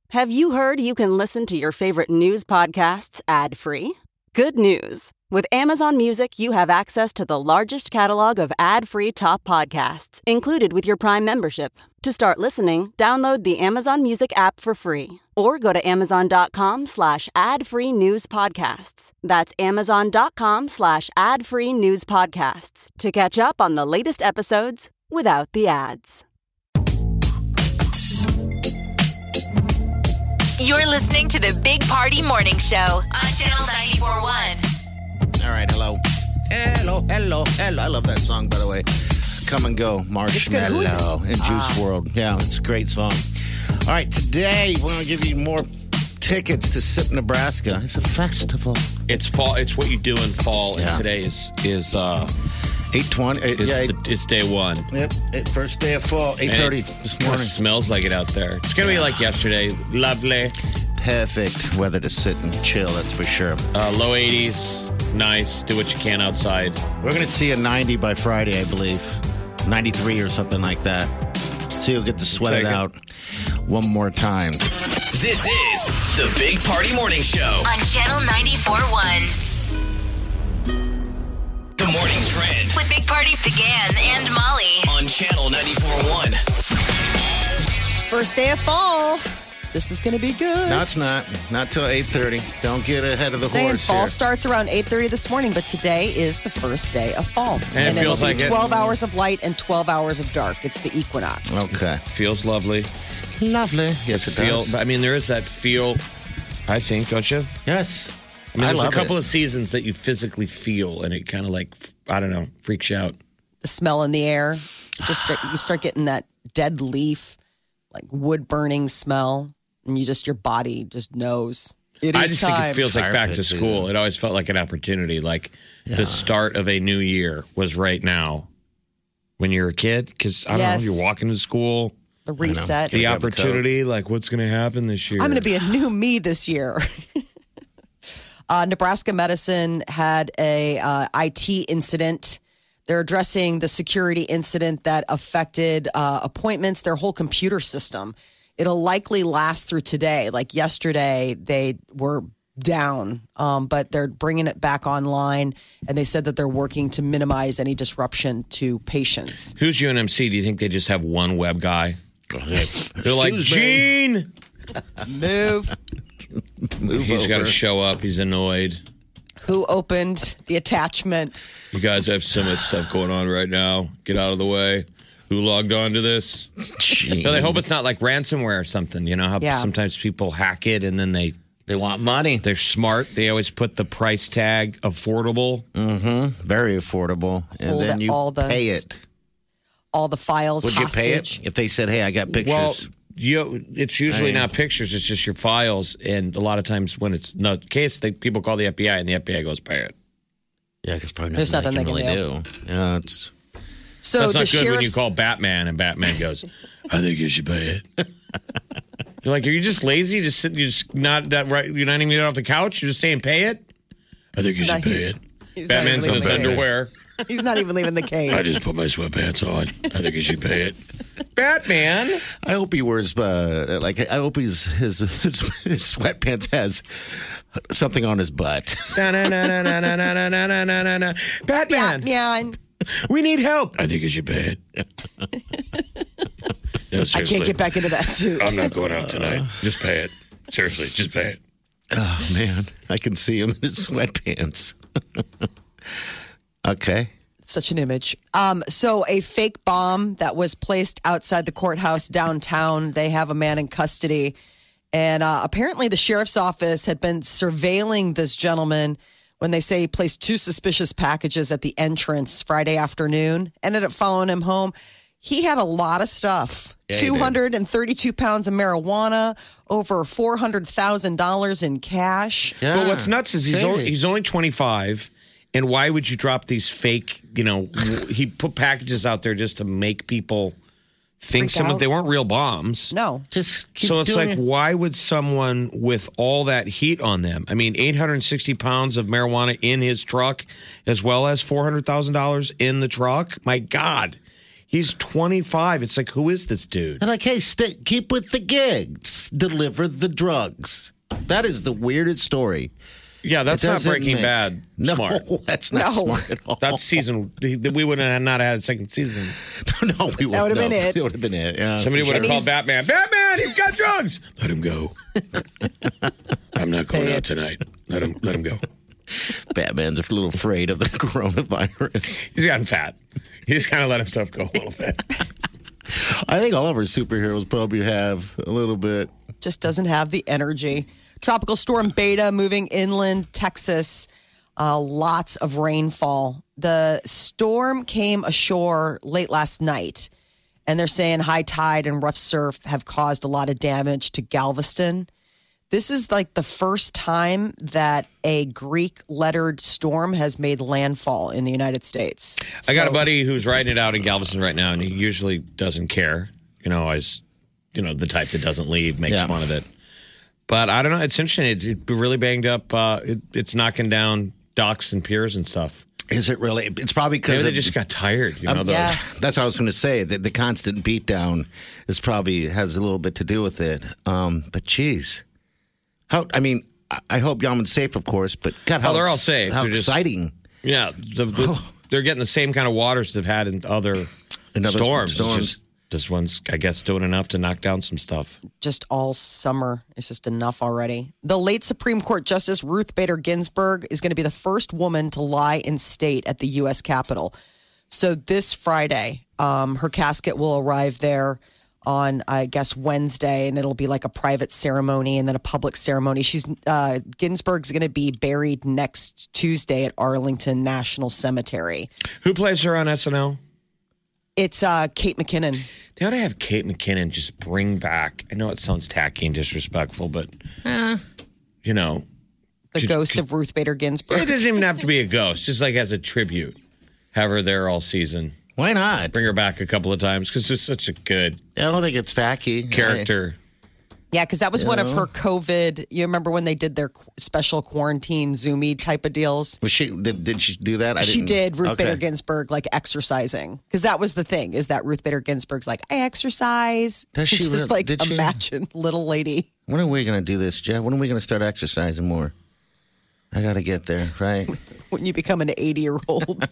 Have you heard you can listen to your favorite news podcasts ad-free? Good news. With Amazon Music, you have access to the largest catalog of ad-free top podcasts included with your Prime membership. To start listening, download the Amazon Music app for free or go to amazon.com/ad-free news podcasts. That's amazon.com/ad-free news podcasts to catch up on the latest episodes without the ads. You're listening to the Big Party Morning Show on Channel 94.1. All right, hello. I love that song, by the way. Come and Go, Marshmello and Juice WRLD. Yeah, it's a great song. All right, today we're going to give you more tickets to SIP Nebraska. It's a festival. It's fall. It's what you do in fall, and today is 8:20. It's day one. Yep, first day of fall, 8:30 this Kind morning. of smells like it out there. It's gonna be like yesterday. Lovely, Perfect weather to sit and chill. That's for sure. low 80s. Nice. Do what you can outside. We're going to see a 90 by Friday, I believe. 93 or something like that. So you'll get to sweat it out one more time. This is the Big Party Morning Show On Channel 94.1. The Morning Trend With Big Party began and Molly. on Channel 94.1. First day of fall. This is going to be good. No, it's not. Not till 8:30. Don't get ahead of the Saying horse fall here. starts around 8:30 this morning, but today is the first day of fall. And it feels it'll like be it. 12 hours of light and 12 hours of dark. It's the equinox. Okay. Feels lovely. Lovely. Yes, it does. I mean, there is that feel. I think, don't you? Yes. I mean, there's a love couple it. of seasons that you physically feel, and it kind of like, I don't know, freaks you out. The smell in the air. You start getting that dead leaf, like wood burning smell, and your body just knows. It is I just time. think it feels like Fire back to pit, school. It always felt like an opportunity. Like the start of a new year was right now when you're a kid. Because, I don't Yes. know, you're walking to school. The reset. The grab a opportunity, like what's going to happen this year? I'm going to be a new me this year. Nebraska Medicine had a IT incident. They're addressing the security incident that affected appointments, their whole computer system. It'll likely last through today. Like yesterday, they were down, but they're bringing it back online. And they said that they're working to minimize any disruption to patients. Who's UNMC? Do you think they just have one web guy? They're like, Excuse me. Gene! Move. He's got to show up. He's annoyed. Who opened the attachment? You guys have so much stuff going on right now. Get out of the way. Who logged on to this? No, they hope it's not like ransomware or something. You know how Yeah. sometimes people hack it and then They want money. they're smart. They always put the price tag affordable. Very affordable. And Hold then you all the- pay it. All the files Would you pay hostage. it if they said, hey, I got pictures? Well, it's usually not pictures. It's just your files. And a lot of times when it's not the case, people call the FBI and the FBI goes pay it. yeah, because probably There's nothing nothing they they can can really do. Yeah, it's... So That's the not good when you sheriff's- call Batman and Batman goes, I think you should pay it. You're like, are you just lazy? Just sitting, you're just not that right. You're not even getting off the couch. You're just saying pay it. I think you should pay it. He's not Batman's even in his leaving the cave. underwear. He's not even leaving the cave. I just put my sweatpants on. I think you should pay it. Batman. I hope he wears, I hope his sweatpants has something on his butt. Na-na-na-na-na-na-na-na-na-na-na. Batman. Yeah, We need help. I think you should pay it. No, I seriously. can't get back into that suit. I'm not going out tonight. Just pay it. Seriously, just pay it. Oh, man. I can see him in his sweatpants. Okay. Such an image. So a fake bomb that was placed outside the courthouse downtown. They have a man in custody. And apparently the sheriff's office had been surveilling this gentleman when they say he placed two suspicious packages at the entrance Friday afternoon. Ended up following him home. He had a lot of stuff. Yeah, he did. 232 pounds of marijuana, over $400,000 in cash. Yeah. But what's nuts is Crazy. he's only 25. And why would you drop these fake, he put packages out there just to make people think Freak out. they weren't real bombs. No. Just keep So it's doing like, it. why would someone with all that heat on them? I mean, 860 pounds of marijuana in his truck, as well as $400,000 in the truck. My God, He's 25. It's like, who is this dude? And like, hey, keep with the gigs. Deliver the drugs. That is the weirdest story. Yeah, that's not Breaking Bad smart. No, that's not smart at all. That's season. We would have not had a second season. No, we wouldn't. That would have been it. It would have been it. Yeah, Somebody would have called Batman. Batman, he's got drugs. Let him go. I'm not going out tonight. Let him go. Batman's a little afraid of the coronavirus. He's gotten fat. He just kind of let himself go a little bit. I think all of our superheroes probably have a little bit. Just doesn't have the energy. Tropical storm Beta moving inland Texas. Lots of rainfall. The storm came ashore late last night, and they're saying high tide and rough surf have caused a lot of damage to Galveston. This is like the first time that a Greek lettered storm has made landfall in the United States. I got a buddy who's riding it out in Galveston right now, and he usually doesn't care. The type that doesn't leave, makes fun of it. But I don't know. It's interesting. It really banged up. It's knocking down docks and piers and stuff. Is it really? It's probably because they just got tired. That's what I was going to say. The constant beatdown is probably has a little bit to do with it. But geez, I hope Yaman's safe, of course. But God, they're all safe. How they're exciting! They're getting the same kind of waters they've had in other storms. This one's, I guess, doing enough to knock down some stuff. Just all summer. It's just enough already. The late Supreme Court Justice Ruth Bader Ginsburg is going to be the first woman to lie in state at the U.S. Capitol. So this Friday, her casket will arrive there on, I guess, Wednesday, and it'll be like a private ceremony and then a public ceremony. Ginsburg's going to be buried next Tuesday at Arlington National Cemetery. Who plays her on SNL? It's Kate McKinnon. They ought to have Kate McKinnon just bring back. I know it sounds tacky and disrespectful, but the ghost of Ruth Bader Ginsburg. It doesn't even have to be a ghost. Just like as a tribute, have her there all season. Why not? Bring her back a couple of times because it's such a good. I don't think it's tacky character. Yeah, because that was one of her COVID. You remember when they did their special quarantine Zoomy type of deals? Was she did she do that? She did. Ruth Bader Ginsburg, like exercising, because that was the thing. Is that Ruth Bader Ginsburg's like, I exercise? Does she just imagine little lady? When are we going to do this, Jeff? When are we going to start exercising more? I got to get there, right? When you become an 80-year-old.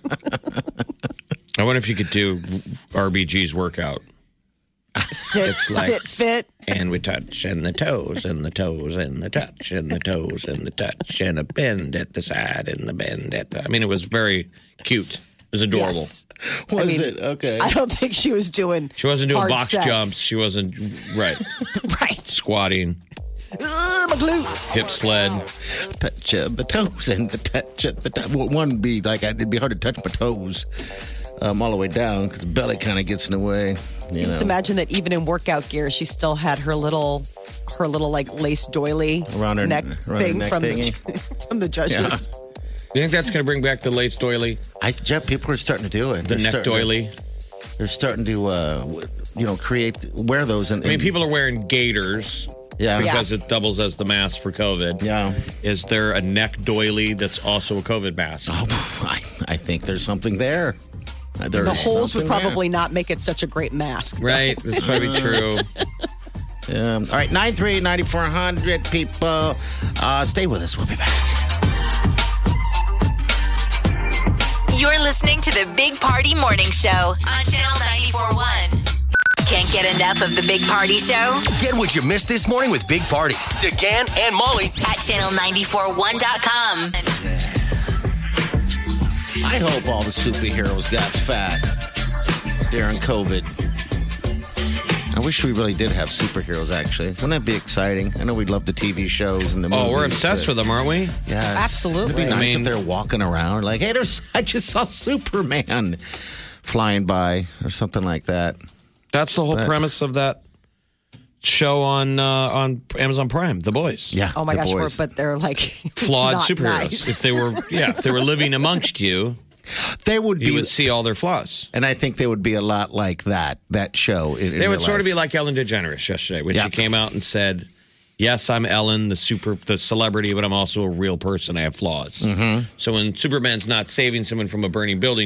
I wonder if you could do RBG's workout. Sit fit. And we touch, and the toes, and the toes, and the touch, and the toes, and the touch, and a bend at the side, and the bend at the... I mean, it was very cute. It was adorable. Yes. Was it? Okay. I don't think she was doing She wasn't doing box sets. jumps. She wasn't... Right. Right. Squatting. My glutes. Hip sled. Touch the toes and the touch of the toes. One would be like, it'd be hard to touch my toes all the way down because the belly kind of gets in the way. Just imagine that even in workout gear, she still had her little like lace doily around her neck thing neck from thingy. the judges. Yeah. You think that's going to bring back the lace doily? Jeff, people are starting to do it. The neck doily? They're starting to, wear those. I mean, people are wearing gaiters. Yeah. Because it doubles as the mask for COVID. Yeah. Is there a neck doily that's also a COVID mask? Oh, I think there's something there. The holes would probably not make it such a great mask. Right. That's probably true. All right. 938-9400 people. Stay with us. We'll be back. You're listening to the Big Party Morning Show on Channel 94.1. Can't get enough of the Big Party Show? Get what you missed this morning with Big Party, DeGan and Molly at channel941.com. I hope all the superheroes got fat during COVID. I wish we really did have superheroes, actually. Wouldn't that be exciting? I know we'd love the TV shows and the movies. Oh, we're obsessed with them, aren't we? Yeah. Absolutely. It'd be nice if they're walking around like, hey, I just saw Superman flying by or something like that. That's the whole premise of that show on Amazon Prime, The Boys. Yeah. Oh my gosh, Boys. but they're like flawed not superheroes. Nice. If they were living amongst you, they would be. You would see all their flaws. And I think they would be a lot like that show. They would sort of be like Ellen DeGeneres yesterday when she came out and said, yes, I'm Ellen, the celebrity, but I'm also a real person. I have flaws. Mm-hmm. So when Superman's not saving someone from a burning building,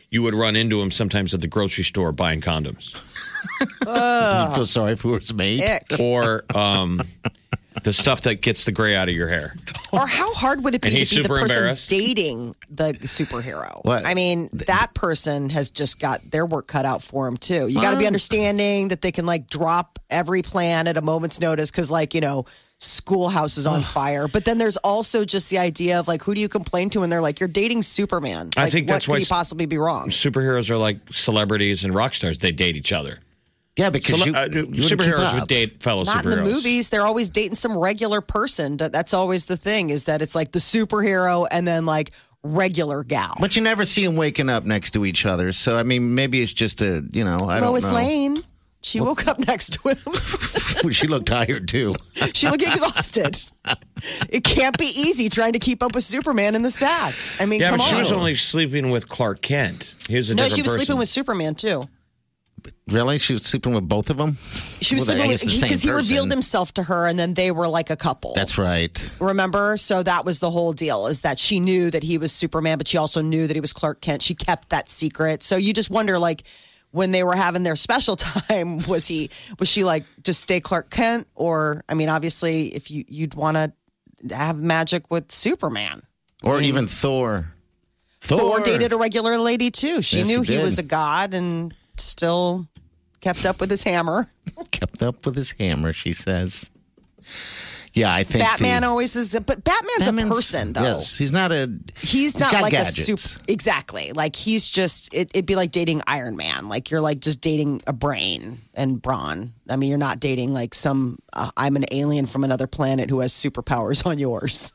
you would run into him sometimes at the grocery store buying condoms. You feel sorry for his mate. Ick. Or the stuff that gets the gray out of your hair. Or how hard would it be And to he's be the super person embarrassed. dating the superhero? What? I mean, that person has just got their work cut out for them too. You got to be understanding that they can like drop every plan at a moment's notice because, like, you know, schoolhouse is on fire. But then there's also just the idea of like, who do you complain to? And they're like, you're dating Superman. I Like, think that's what why could you possibly be wrong? Superheroes are like celebrities and rock stars. They date each other. Yeah, because you wouldn't keep superheroes up. would date fellow Not superheroes. in the movies. They're always dating some regular person. That's always the thing, is that it's like the superhero and then like regular gal. But you never see them waking up next to each other. So, I mean, maybe it's just I don't Lois know. Lane, she woke up next to him. She looked tired, too. She looked exhausted. It can't be easy trying to keep up with Superman in the sack. I mean, Yeah, come but on. she was only sleeping with Clark Kent. He was a no, different she was person. sleeping with Superman too. Really? She was sleeping with both of them? She was Well, I sleeping guess with the same because he revealed person. himself to her, and then they were like a couple. That's right. Remember? So that was the whole deal, is that she knew that he was Superman, but she also knew that he was Clark Kent. She kept that secret. So you just wonder, like, when they were having their special time, was she like, just stay Clark Kent? Or, I mean, obviously, if you'd want to have magic with Superman. Or even Thor. Thor dated a regular lady too. She Yes, knew he he did. was a god and still kept up with his hammer. Kept up with his hammer, she says. Yeah, I think Batman always is, but Batman's a person though. Yes, he's not a. He's not got like gadgets. a super. Exactly. Like he's just. It'd be like dating Iron Man. Like you're like just dating a brain and brawn. I mean, you're not dating like some. I'm an alien from another planet who has superpowers on yours.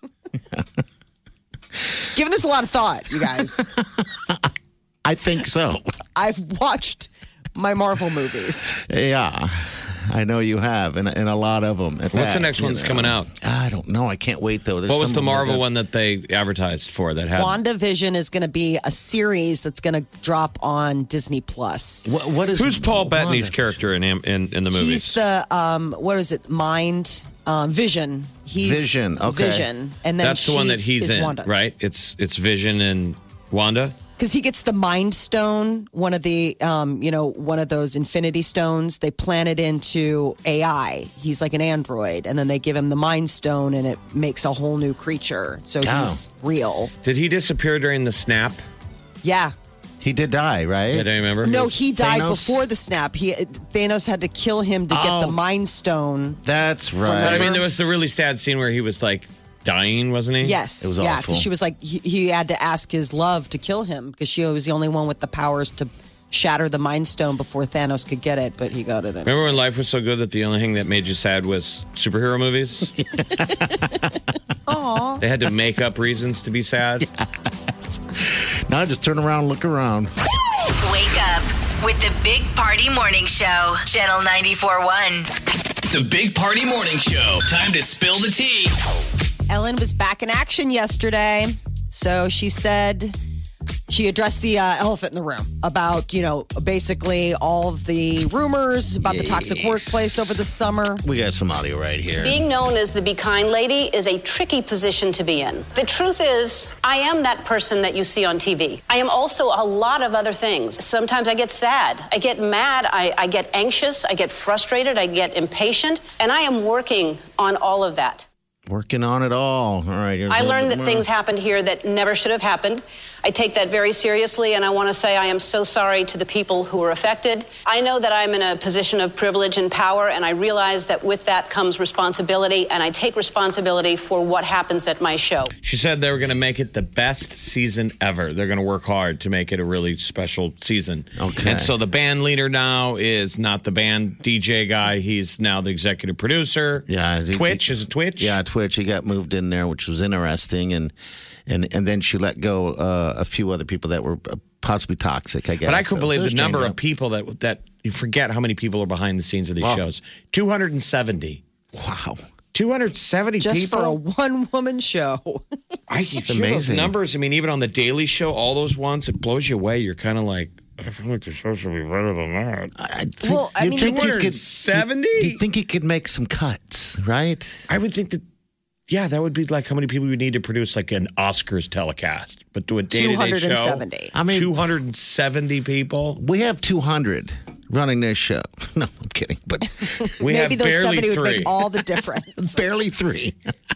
Giving this a lot of thought, you guys. I think so. I've watched my Marvel movies. Yeah, I know you have, and a lot of them. What's the next one that's coming out? I don't know. I can't wait though. There's What was some the of them Marvel that- one that they advertised for that had? WandaVision is going to be a series that's going to drop on Disney Plus. What is? Who's Paul Wanda? Bettany's character in the movies? He's the what is it? Vision. He's Vision, okay. Vision, and then That's the one that he's is in, Wanda. right? It's Vision and Wanda. Because he gets the Mind Stone, one of the one of those Infinity Stones. They plant it into AI. He's like an android, and then they give him the Mind Stone, and it makes a whole new creature. So he's real. Did he disappear during the snap? Yeah. He did die, right? Did I remember? No, he died Thanos? before the snap. Thanos had to kill him to get the Mind Stone. That's right. But I mean, there was the really sad scene where he was like dying, wasn't he? Yes, It was yeah, awful. because she was like, he had to ask his love to kill him because she was the only one with the powers to shatter the Mind Stone before Thanos could get it, but he got it. Remember when life was so good that the only thing that made you sad was superhero movies? Aww. They had to make up reasons to be sad. Now just turn around, look around. Wake up with the Big Party Morning Show, Channel 94.1. The Big Party Morning Show. Time to spill the tea. Ellen was back in action yesterday. So she said she addressed the elephant in the room about, basically all of the rumors about the toxic workplace over the summer. We got some audio right here. Being known as the Be Kind Lady is a tricky position to be in. The truth is, I am that person that you see on TV. I am also a lot of other things. Sometimes I get sad, I get mad, I get anxious, I get frustrated, I get impatient, and I am working on all of that. Working on it all. All right. here's a I little learned bit that more. things happened here that never should have happened. I take that very seriously, and I want to say I am so sorry to the people who were affected. I know that I'm in a position of privilege and power, and I realize that with that comes responsibility, and I take responsibility for what happens at my show. She said they were going to make it the best season ever. They're going to work hard to make it a really special season. Okay. And so the band leader now is not the band DJ guy. He's now the executive producer. Yeah. Twitch. Is it Twitch? Yeah, Twitch. He got moved in there, which was interesting. And then she let go a few other people that were possibly toxic, I guess. But I couldn't believe So the number changed of up. people that you forget how many people are behind the scenes of these Wow. shows. 270. Wow. 270 Just people. for a one-woman show. I hear those amazing. numbers. I mean, even on the Daily Show, all those ones, it blows you away. You're kind of like, I feel like the show should be better than that. I think, Well, I you'd mean, think he could- 270? You'd think he could make some cuts, right? I would think that Yeah, that would be like how many people you need to produce like an Oscars telecast, but do a day-to-day show. 270. I mean, 270 people. we have 200 running this show. No, I'm kidding. But We Maybe have those barely 70 would three. make all the difference. barely 3.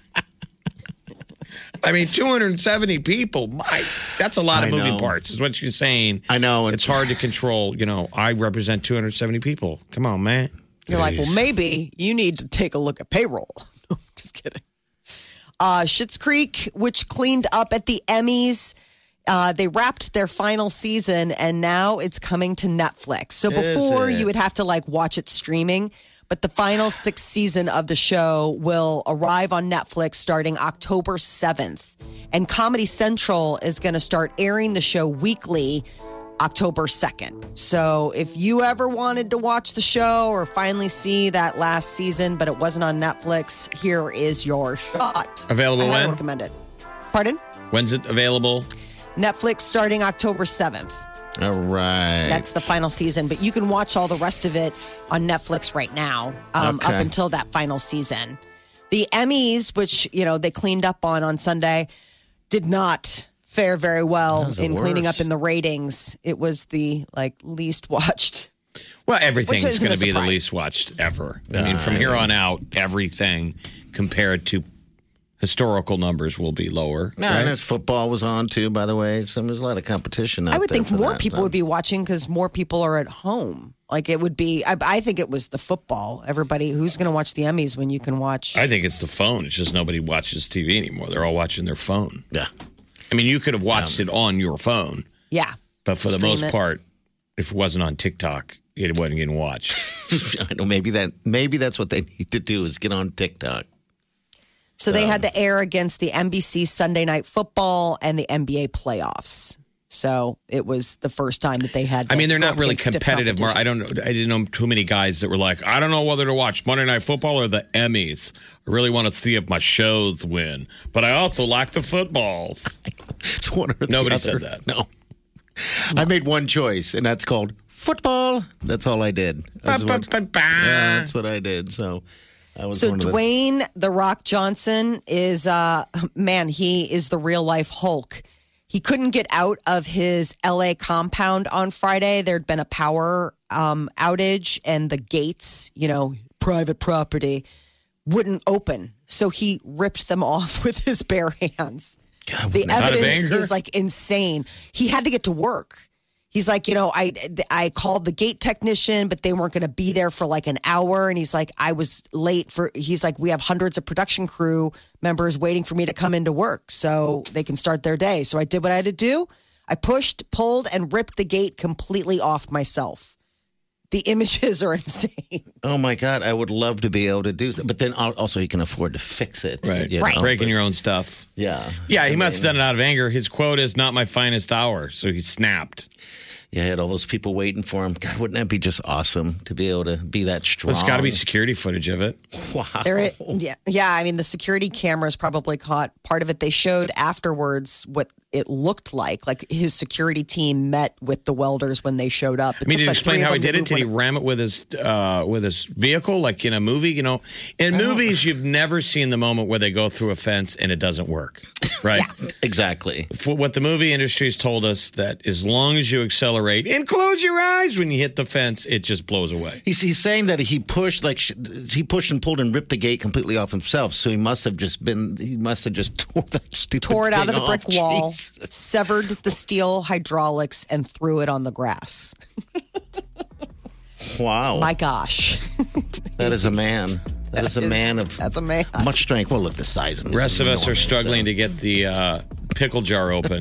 I mean, 270 people. That's a lot of I moving know. parts, is what you're saying. I know. It's hard to control. I represent 270 people. Come on, man. You're like, well, maybe you need to take a look at payroll. No, just kidding. Schitt's Creek, which cleaned up at the Emmys, they wrapped their final season, and now it's coming to Netflix. So before you would have to watch it streaming, but the final 6th season of the show will arrive on Netflix starting October 7th. And Comedy Central is going to start airing the show weekly October 2nd. So if you ever wanted to watch the show or finally see that last season, but it wasn't on Netflix, here is your shot. Available I highly when? recommend it. Pardon? When's it available? Netflix starting October 7th. All right. That's the final season, but you can watch all the rest of it on Netflix right now up Okay. until that final season. The Emmys, which, they cleaned up on Sunday, did not fare very well the in cleaning worst. up in the ratings. It was the least watched. Well, everything's Which isn't going a to be the surprise. least watched ever. I mean, from here on out, everything compared to historical numbers will be lower. No, right? and there's football was on too, by the way. So there's a lot of competition out I would there think for more that, people so. would be watching because more people are at home. It would be, I think it was the football. Everybody, who's going to watch the Emmys when you can watch? I think it's the phone. It's just nobody watches TV anymore. They're all watching their phone. Yeah. I mean, you could have watched it on your phone, Yeah. but for the Stream most it. part, if it wasn't on TikTok, it wasn't getting watched. I know maybe that's what they need to do is get on TikTok. So they had to air against the NBC Sunday Night Football and the NBA playoffs. So it was the first time that they had. I mean, they're go not up really against stiff competitive. I competition. didn't know too many guys that were like, I don't know whether to watch Monday Night Football or the Emmys. I really want to see if my shows win, but I also like the footballs. It's one or the Nobody other. said that. No. I made one choice, and that's called football. That's all I did. That's what, yeah, that's what I did. So I was So one of the, Dwayne The Rock Johnson is, he is the real life Hulk. He couldn't get out of his LA compound on Friday. There'd been a power outage and the gates, private property, wouldn't open. So he ripped them off with his bare hands. God, The Out of evidence anger? is insane. He had to get to work. He's like, I called the gate technician, but they weren't going to be there for an hour. And he's like, I was late he's like, we have hundreds of production crew members waiting for me to come into work so they can start their day. So I did what I had to do. I pushed, pulled, and ripped the gate completely off myself. The images are insane. Oh my God, I would love to be able to do that. But then also he can afford to fix it. Right. you know? Breaking But- your own stuff. Yeah. Yeah, he must have done it out of anger. His quote is, not my finest hour. So he snapped. Yeah, I had all those people waiting for him. God, wouldn't that be just awesome to be able to be that strong? Well, it's got to be security footage of it. Wow. Yeah. I mean, the security cameras probably caught part of it. They showed afterwards what it looked like. His security team met with the welders when they showed up. I mean, did you explain how he did it? Did he ram it with his vehicle, like in a movie? In movies, you've never seen the moment where they go through a fence and it doesn't work, right? Exactly. For what the movie industry has told us, that as long as you accelerate and close your eyes when you hit the fence, it just blows away. He's saying that he pushed and pulled and ripped the gate completely off himself. So he must have just tore that stupid tore it out of thing the brick off. wall, Jesus. severed the steel hydraulics, and threw it on the grass. Wow. My gosh. That is a man. That is a man of That's a man. much strength. Well, look, the size of him. The rest of us are struggling to get the pickle jar open.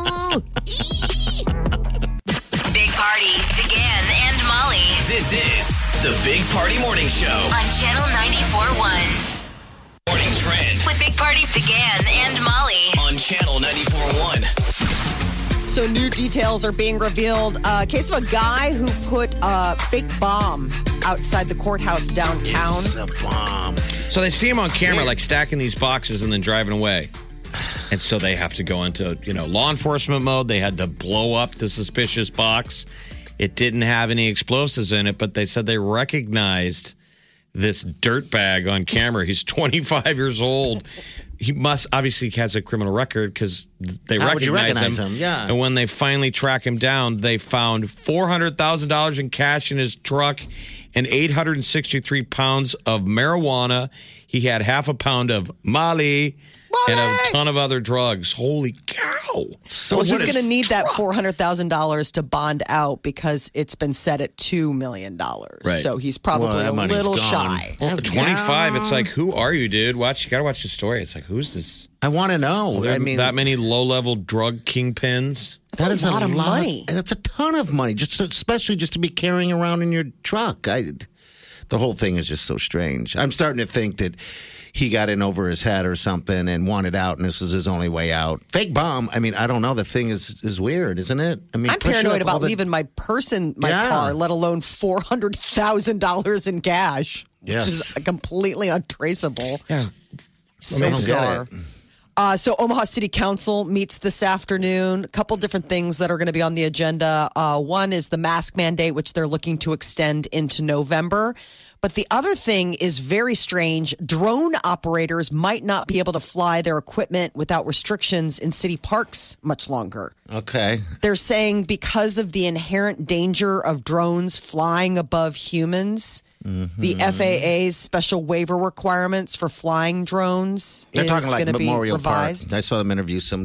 Big Party, DeGan and Molly This is the Big Party Morning Show. on Channel 94.1. Morning Trend With Big Party, DeGan and Molly. on Channel 94.1. So new details are being revealed. Case of a guy who put a fake bomb outside the courthouse downtown. It's a bomb. So they see him on camera, stacking these boxes and then driving away. And so they have to go into, law enforcement mode. They had to blow up the suspicious box. It didn't have any explosives in it, but they said they recognized this dirtbag on camera. He's 25 years old. He must obviously has a criminal record because they How would you recognize recognize him? Yeah. And when they finally track him down, they found $400,000 in cash in his truck and 863 pounds of marijuana. He had half a pound of Molly and a ton of other drugs. Holy cow. So Well, he's what going to is- need that $400,000 to bond out because it's been set at $2 million. Right. So he's Well, probably that a money's little gone. shy. Well, 25. yeah. It's like, who are you, dude? You got to watch the story. It's like, who's this? I want to know. There I mean, that many low-level drug kingpins? that is a lot of money. That's a ton of money, especially just to be carrying around in your truck. The whole thing is just so strange. I'm starting to think that he got in over his head or something and wanted out, and this is his only way out. Fake bomb. I mean, I don't know. The thing is weird, isn't it? I mean, I'm paranoid about leaving my purse in my Yeah. car, let alone $400,000 in cash, Yes. which is completely untraceable. Yeah. So I don't get bizarre. it. So Omaha City Council meets this afternoon. A couple different things that are going to be on the agenda. One is the mask mandate, which they're looking to extend into November. But the other thing is very strange. Drone operators might not be able to fly their equipment without restrictions in city parks much longer. Okay. They're saying because of the inherent danger of drones flying above humans, the FAA's special waiver requirements for flying drones They're is talking like going to be Memorial revised. Park. I saw them interview some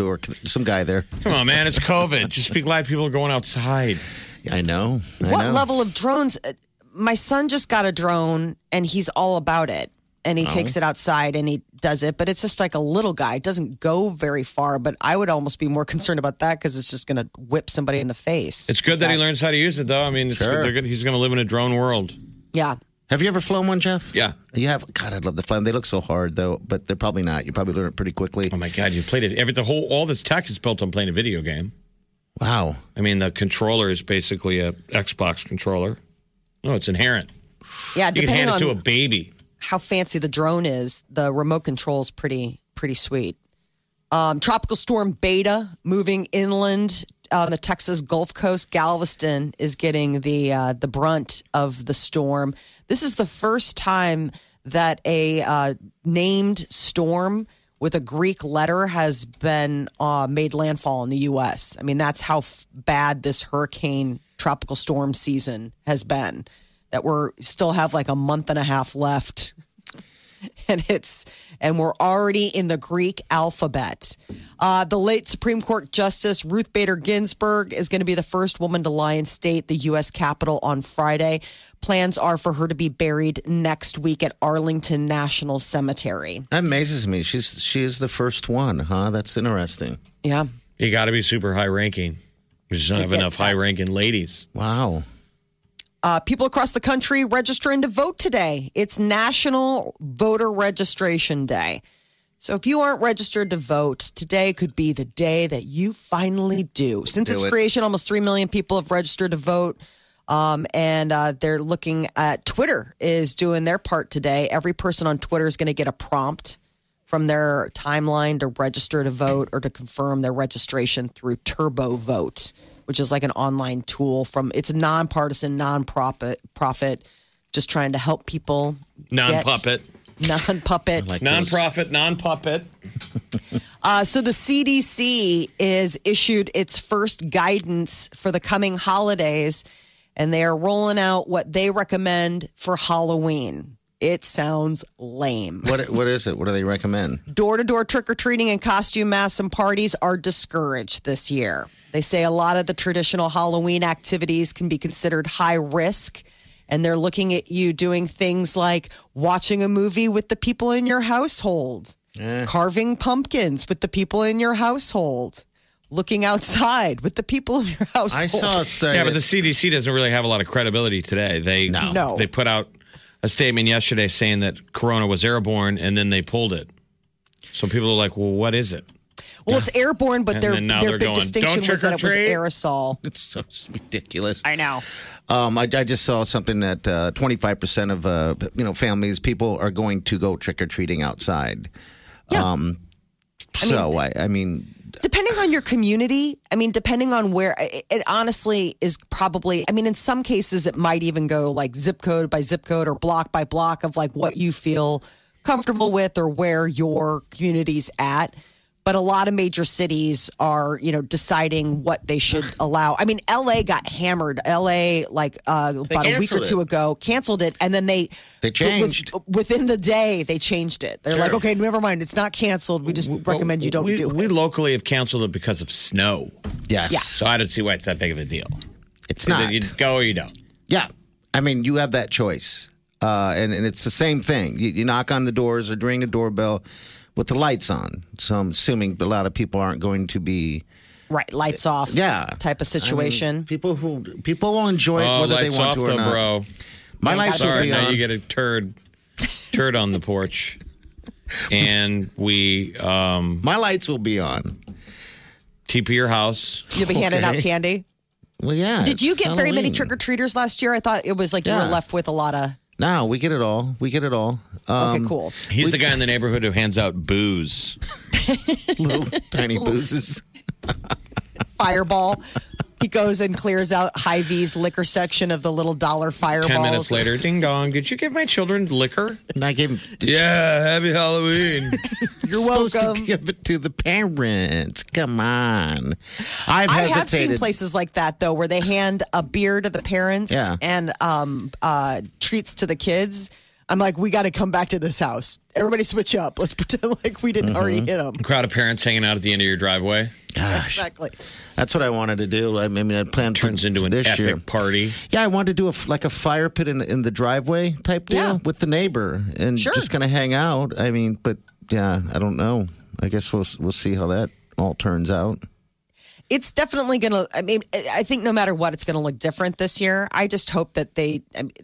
guy there. Come on, man. It's COVID. Just be glad people are going outside. I know. What level of drones? My son just got a drone and he's all about it. And he takes it outside and he does it. But it's just like a little guy. It doesn't go very far. But I would almost be more concerned about that because it's just going to whip somebody in the face. It's good that he learns how to use it, though. I mean, it's Sure. good. He's going to live in a drone world. Yeah. Have you ever flown one, Jeff? Yeah. You have? God, I'd love to fly them. They look so hard, though, but they're probably not. You probably learn it pretty quickly. Oh, my God. You played it. All this tech is built on playing a video game. Wow. I mean, the controller is basically a Xbox controller. No, it's inherent. Yeah. You can Depending hand it on to a baby. how fancy the drone is, the remote control is pretty sweet. Tropical storm Beta moving inland on the Texas Gulf Coast. Galveston is getting the brunt of the storm. This is the first time that a named storm with a Greek letter has been made landfall in the U.S. I mean, that's how bad this hurricane tropical storm season has been. That we're still have like a month and a half left. And we're already in the Greek alphabet. The late Supreme Court Justice Ruth Bader Ginsburg is going to be the first woman to lie in state, the U.S. Capitol, on Friday. Plans are for her to be buried next week at Arlington National Cemetery. That amazes me. She is the first one, huh? That's interesting. Yeah. You got to be super high ranking. We just don't have get enough that. high ranking ladies. Wow. People across the country registering to vote today. It's National Voter Registration Day. So if you aren't registered to vote, today could be the day that you finally do. Since its creation, almost 3 million people have registered to vote. And they're looking at Twitter is doing their part today. Every person on Twitter is going to get a prompt from their timeline to register to vote or to confirm their registration through Turbo Vote, which is like an online tool it's a nonpartisan, non-profit, just trying to help people. Non-puppet. Non-puppet. Non-profit, non-puppet. So the CDC is issued its first guidance for the coming holidays, and they are rolling out what they recommend for Halloween. It sounds lame. What is it? What do they recommend? Door-to-door trick-or-treating and costume masks and parties are discouraged this year. They say a lot of the traditional Halloween activities can be considered high risk, and they're looking at you doing things like watching a movie with the people in your household, carving pumpkins with the people in your household, looking outside with the people in your household. I saw a study. Yeah, but the CDC doesn't really have a lot of credibility today. No. They put out a statement yesterday saying that Corona was airborne, and then they pulled it. So people are like, well, what is it? Well, it's airborne, but And their then now big they're going, distinction "Don't was that it was trick or treat." aerosol. It's so ridiculous. I know. I just saw something that 25% of families, people are going to go trick or treating outside. Yeah. I mean, Depending on your community, I mean, depending on where, it honestly is probably, I mean, in some cases, it might even go like zip code by zip code or block by block of like what you feel comfortable with or where your community's at. But a lot of major cities are, deciding what they should allow. I mean, LA got hammered. LA, like about a week or two ago, canceled it. And then they changed. Within the day, they changed it. They're like, okay, never mind. It's not canceled. We just recommend you don't do it. We locally have canceled it because of snow. Yes. Yeah. So I don't see why it's that big of a deal. It's not. You go or you don't. Yeah. I mean, you have that choice. And it's the same thing. You knock on the doors or ring the doorbell with the lights on. So I'm assuming a lot of people aren't going to be right, lights off. Type of situation. I mean, people will enjoy it whether they want to or not. Bro. My lights will be now on. you get a turd on the porch, and we my lights will be on. TP your house. You'll be handing out candy. Well, yeah. Did you get very many trick or treaters last year? I thought it was like you were left with a lot of. No, we get it all. Okay, cool. He's the guy in the neighborhood who hands out booze. Little tiny boozes. Fireball. He goes and clears out Hy-Vee's liquor section of the little dollar fireballs. 10 minutes later, ding dong. Did you give my children liquor? And I gave him. Yeah, happy Halloween. You're supposed welcome. to give it to the parents. Come on. I have seen places like that though, where they hand a beer to the parents and treats to the kids. I'm like, we got to come back to this house. Everybody switch up. Let's pretend like we didn't already hit them. Crowd of parents hanging out at the end of your driveway. Gosh. Exactly. That's what I wanted to do. I mean, I planned Turns into an this epic year. party. Yeah, I wanted to do a fire pit in the driveway type deal with the neighbor and just kind of hang out. I mean, but yeah, I don't know. I guess we'll see how that all turns out. It's definitely going to, I mean, I think no matter what, it's going to look different this year. I just hope that they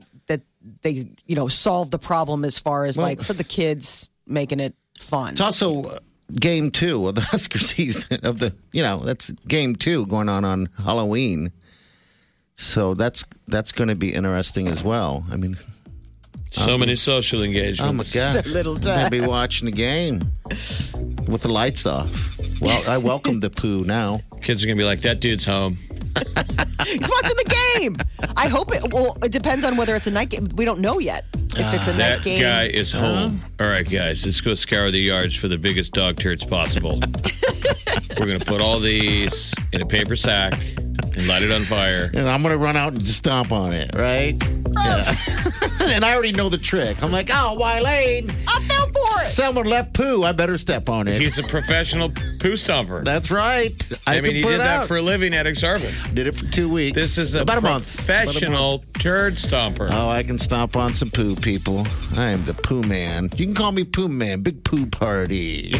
solve the problem as far as like for the kids making it fun. It's also game 2 of the Husker season of the, that's game 2 going on Halloween. So that's going to be interesting as well. I mean, so many social engagements. Oh my God. It's a little I'm going to be watching the game with the lights off. Well, I welcome the poo now. Kids are going to be like, that dude's home. He's watching the game. I hope it depends on whether it's a night game. We don't know yet if it's a night game. That guy is home. All right, guys, let's go scour the yards for the biggest dog turds possible. We're going to put all these in a paper sack and light it on fire. And I'm going to run out and just stomp on it, right? Yeah. And I already know the trick. I'm like, oh, Wileen. I fell for it. Someone left poo. I better step on it. He's a professional poo stomper. That's right. I mean, he did that for a living at Exarban. Did it for 2 weeks. This is a professional turd stomper. Oh, I can stomp on some poo, people. I am the poo man. You can call me poo man. Big poo party.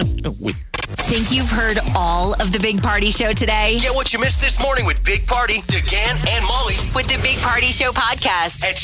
Think you've heard all of the Big Party Show today? Get what you missed this morning with Big Party, DeGan, and Molly With the Big Party Show podcast at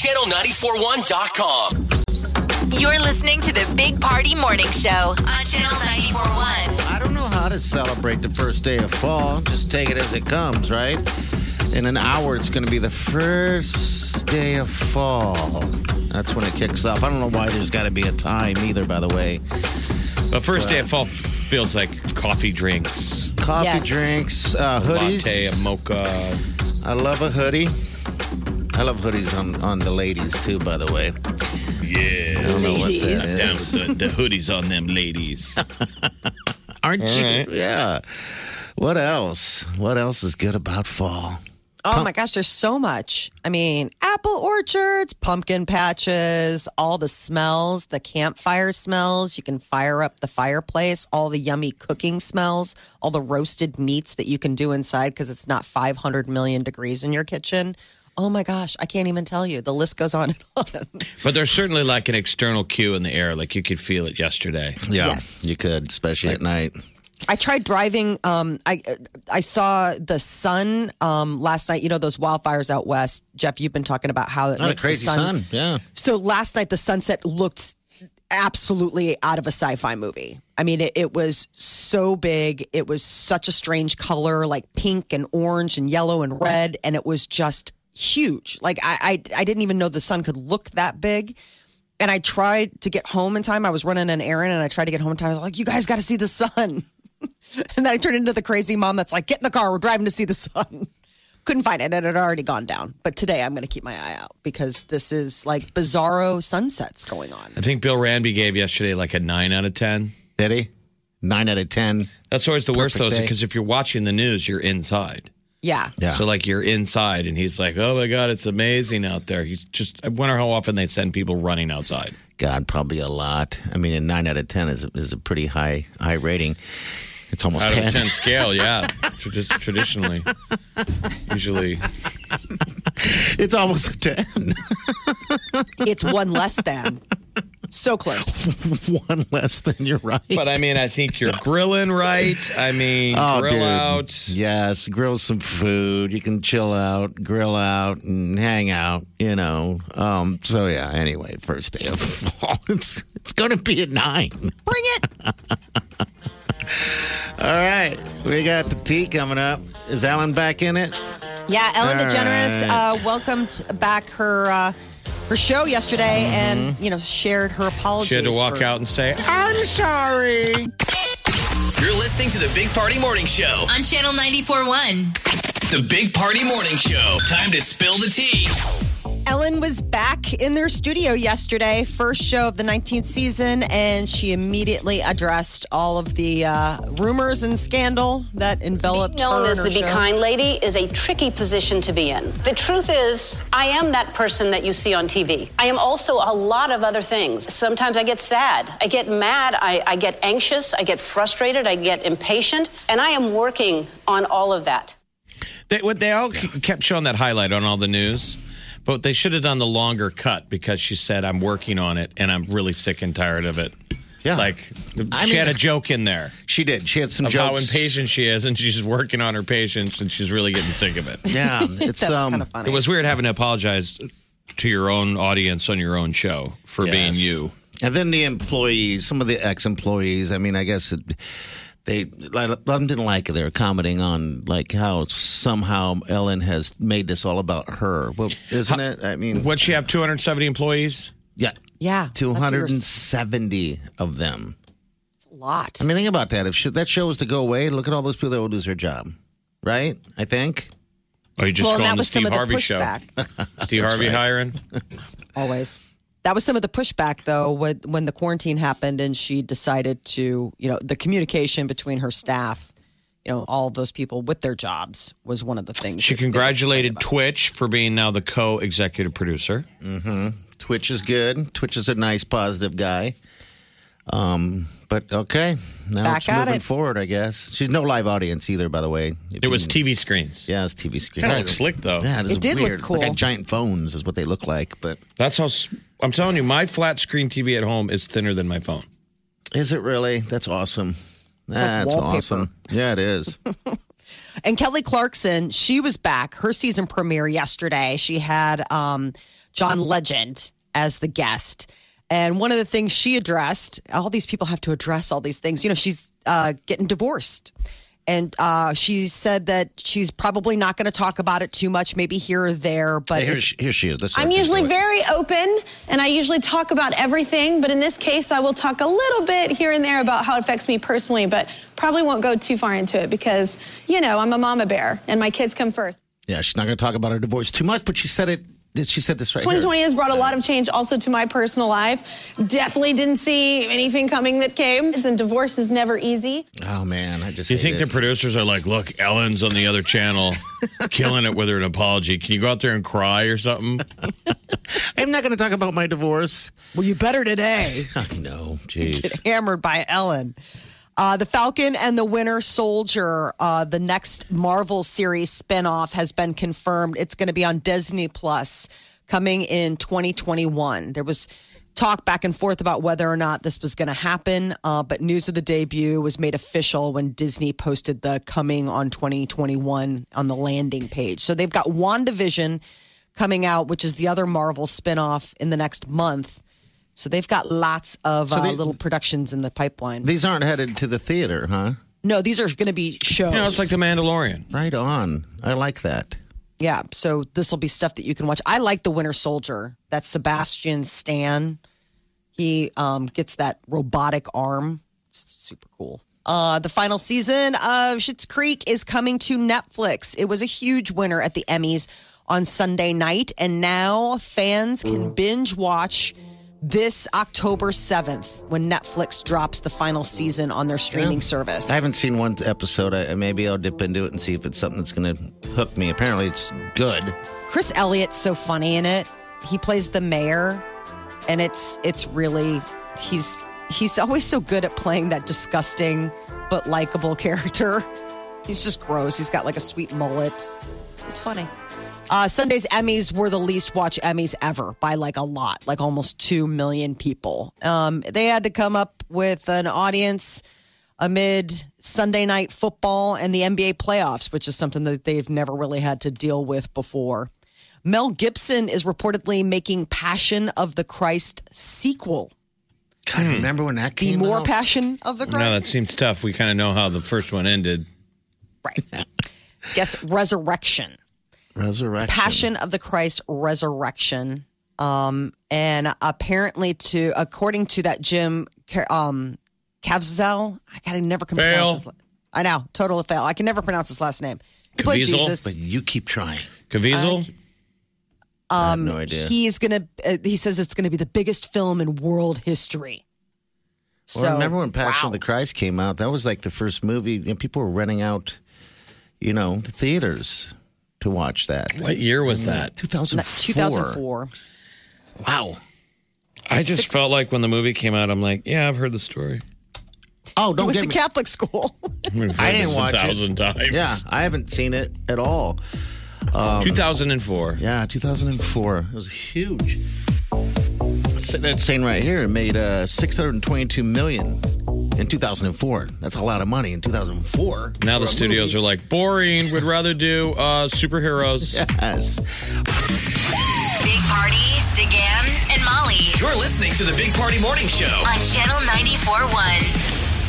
channel941.com. You're listening to the Big Party Morning Show on Channel 94.1. I don't know how to celebrate the first day of fall. Just take it as it comes, right? In an hour, it's going to be the first day of fall. That's when it kicks off. I don't know why there's got to be a time either, by the way. The first day of fall feels like coffee drinks. Coffee drinks, hoodies. Latte, a mocha. I love a hoodie. I love hoodies on the ladies, too, by the way. Yeah. I don't know what that is. Down with the hoodies on them ladies. Aren't All you? right. Yeah. What else? What else is good about fall? Oh my gosh, there's so much. I mean, apple orchards, pumpkin patches, all the smells, the campfire smells. You can fire up the fireplace, all the yummy cooking smells, all the roasted meats that you can do inside because it's not 500 million degrees in your kitchen. Oh my gosh, I can't even tell you. The list goes on and on. But there's certainly like an external cue in the air. Like you could feel it yesterday. Yeah, Yes. you could, especially at night. I tried driving. I saw the sun last night. You know those wildfires out west, Jeff. You've been talking about how it Oh, the makes crazy the sun. Yeah. So last night the sunset looked absolutely out of a sci-fi movie. I mean, it was so big. It was such a strange color, like pink and orange and yellow and red, and it was just huge. Like I didn't even know the sun could look that big. And I tried to get home in time. I was running an errand, and I tried to get home in time. I was like, "You guys got to see the sun." And then I turned into the crazy mom that's like, get in the car. We're driving to see the sun. Couldn't find it. It had already gone down. But today I'm going to keep my eye out because this is like bizarro sunsets going on. I think Bill Ranby gave yesterday like a 9 out of 10. Did he? 9 out of 10. That's always the worst, though, Perfect day. because if you're watching the news, you're inside. Yeah. So, like, you're inside, and he's like, oh, my God, it's amazing out there. I wonder how often they send people running outside. God, probably a lot. I mean, a 9 out of 10 is a pretty high rating. It's almost Out 10. of 10 scale, yeah. Just traditionally. Usually. It's almost a 10. It's one less than. So close. One less than you're right. But, I mean, I think you're grilling right. I mean, grill dude. out. Yes, grill some food. You can chill out, grill out, and hang out, So, yeah, anyway, first day of fall. It's going to be a 9. Bring it. All right. We got the tea coming up. Is Ellen back in it? Yeah, Ellen All DeGeneres right. welcomed back her show yesterday and, shared her apologies. She had to walk out and say, I'm sorry. You're listening to the Big Party Morning Show. On Channel 94.1. The Big Party Morning Show. Time to spill the tea. Ellen was back in their studio yesterday, first show of the 19th season, and she immediately addressed all of the rumors and scandal that enveloped Being known her as and the her Be show. Kind lady is a tricky position to be in. The truth is, I am that person that you see on TV. I am also a lot of other things. Sometimes I get sad, I get mad, I get anxious, I get frustrated, I get impatient, and I am working on all of that. They all kept showing that highlight on all the news. But they should have done the longer cut because she said, I'm working on it and I'm really sick and tired of it. Yeah. Like, she had a joke in there She did. She had some of jokes. how impatient she is, and she's working on her patience, and she's really getting sick of it. Yeah. It's That's kind of funny. It was weird having to apologize to your own audience on your own show for being you. And then the employees, some of the ex-employees, I mean, I guess a lot of them didn't like it. They were commenting on like how somehow Ellen has made this all about her. Well, isn't it? I mean, What'd she have, 270 employees? yeah, Yeah. 270 of them. That's a lot. I mean, think about that. If that show was to go away, look at all those people that would lose their job, right? I think. Or you just well, go that on the was some Steve of the Harvey show? pushback. Steve Harvey right. hiring? Always. That was some of the pushback, though, when the quarantine happened and she decided to, the communication between her staff, all of those people with their jobs was one of the things. She that they congratulated complained Twitch for being now the co-executive producer. Twitch is good. Twitch is a nice, positive guy. But okay, now Back it's at moving it. forward, I guess. She's no live audience either, by the way. It was TV screens. Yeah, it's TV screen. Kind of looks slick, though. Yeah, It did look weird. cool. Like giant phones is what they look like. But That's how, I'm telling you, my flat screen TV at home is thinner than my phone. is it really? That's awesome. like That's wallpaper. awesome. Yeah, it is. And Kelly Clarkson, she was back. Her season premiere yesterday. She had John Legend as the guest. And one of the things she addressed, all these people have to address all these things. She's getting divorced. And she said that she's probably not going to talk about it too much, maybe here or there. But Hey, it's- here she is. Let's I'm start this usually way. very open and I usually talk about everything, but in this case, I will talk a little bit here and there about how it affects me personally, but probably won't go too far into it because, I'm a mama bear and my kids come first. Yeah, she's not going to talk about her divorce too much, but she said it. She said this right 2020 here. has brought a lot of change also to my personal life. Definitely didn't see anything coming that came. And divorce is never easy. Oh, man. I just Do you think hate the it. producers are like, look, Ellen's on the other channel, killing it with her an apology. Can you go out there and cry or something? I'm not going to talk about my divorce. well, you better today. I know. Jeez. Get hammered by Ellen. The Falcon and the Winter Soldier, the next Marvel series spinoff has been confirmed. It's going to be on Disney Plus coming in 2021. There was talk back and forth about whether or not this was going to happen, but news of the debut was made official when Disney posted the coming on 2021 on the landing page. So they've got WandaVision coming out, which is the other Marvel spinoff in the next month. So they've got lots of little productions in the pipeline. These aren't headed to the theater, huh? No, these are going to be shows. It's like The Mandalorian. Right on. I like that. Yeah, so this will be stuff that you can watch. I like The Winter Soldier. That's Sebastian Stan. He gets that robotic arm. It's super cool. The final season of Schitt's Creek is coming to Netflix. It was a huge winner at the Emmys on Sunday night, and now fans can binge watch this October 7th when Netflix drops the final season on their streaming service. I haven't seen one episode. Maybe I'll dip into it and see if it's something that's going to hook me. Apparently, it's good. Chris Elliott's so funny in it. He plays the mayor, and it's really he's always so good at playing that disgusting but likable character. He's just gross. He's got like a sweet mullet. It's funny. Sunday's Emmys were the least watched Emmys ever by like a lot, like almost 2 million people. They had to come up with an audience amid Sunday night football and the NBA playoffs, which is something that they've never really had to deal with before. Mel Gibson is reportedly making Passion of the Christ sequel. God, remember when that came The more out? Passion of the Christ? No, that seems tough. We kind of know how the first one ended. Right. Guess Resurrection. Passion of the Christ Resurrection. And apparently according to that Jim Caviezel, I can never pronounce his I know, total fail. I can never pronounce his last name. He played Jesus. But you keep trying. Caviezel? I have no idea. He says it's gonna be the biggest film in world history. Well, remember when Passion of the Christ came out? That was like the first movie. People were renting out, the theaters to watch that. What year was that? 2004. 2004. Wow. I just felt like when the movie came out, I'm like, yeah, I've heard the story. Oh, don't went get to me. Catholic school. I didn't watch 1,000 times. Yeah, I haven't seen it at all. 2004. Yeah, 2004. It was huge. That's saying right here, it made $622 million in 2004. That's a lot of money in 2004. Now the studios are like, boring. We'd rather do superheroes. Yes. Big Party, DeGan, and Molly You're listening to the Big Party Morning Show on Channel 94.1.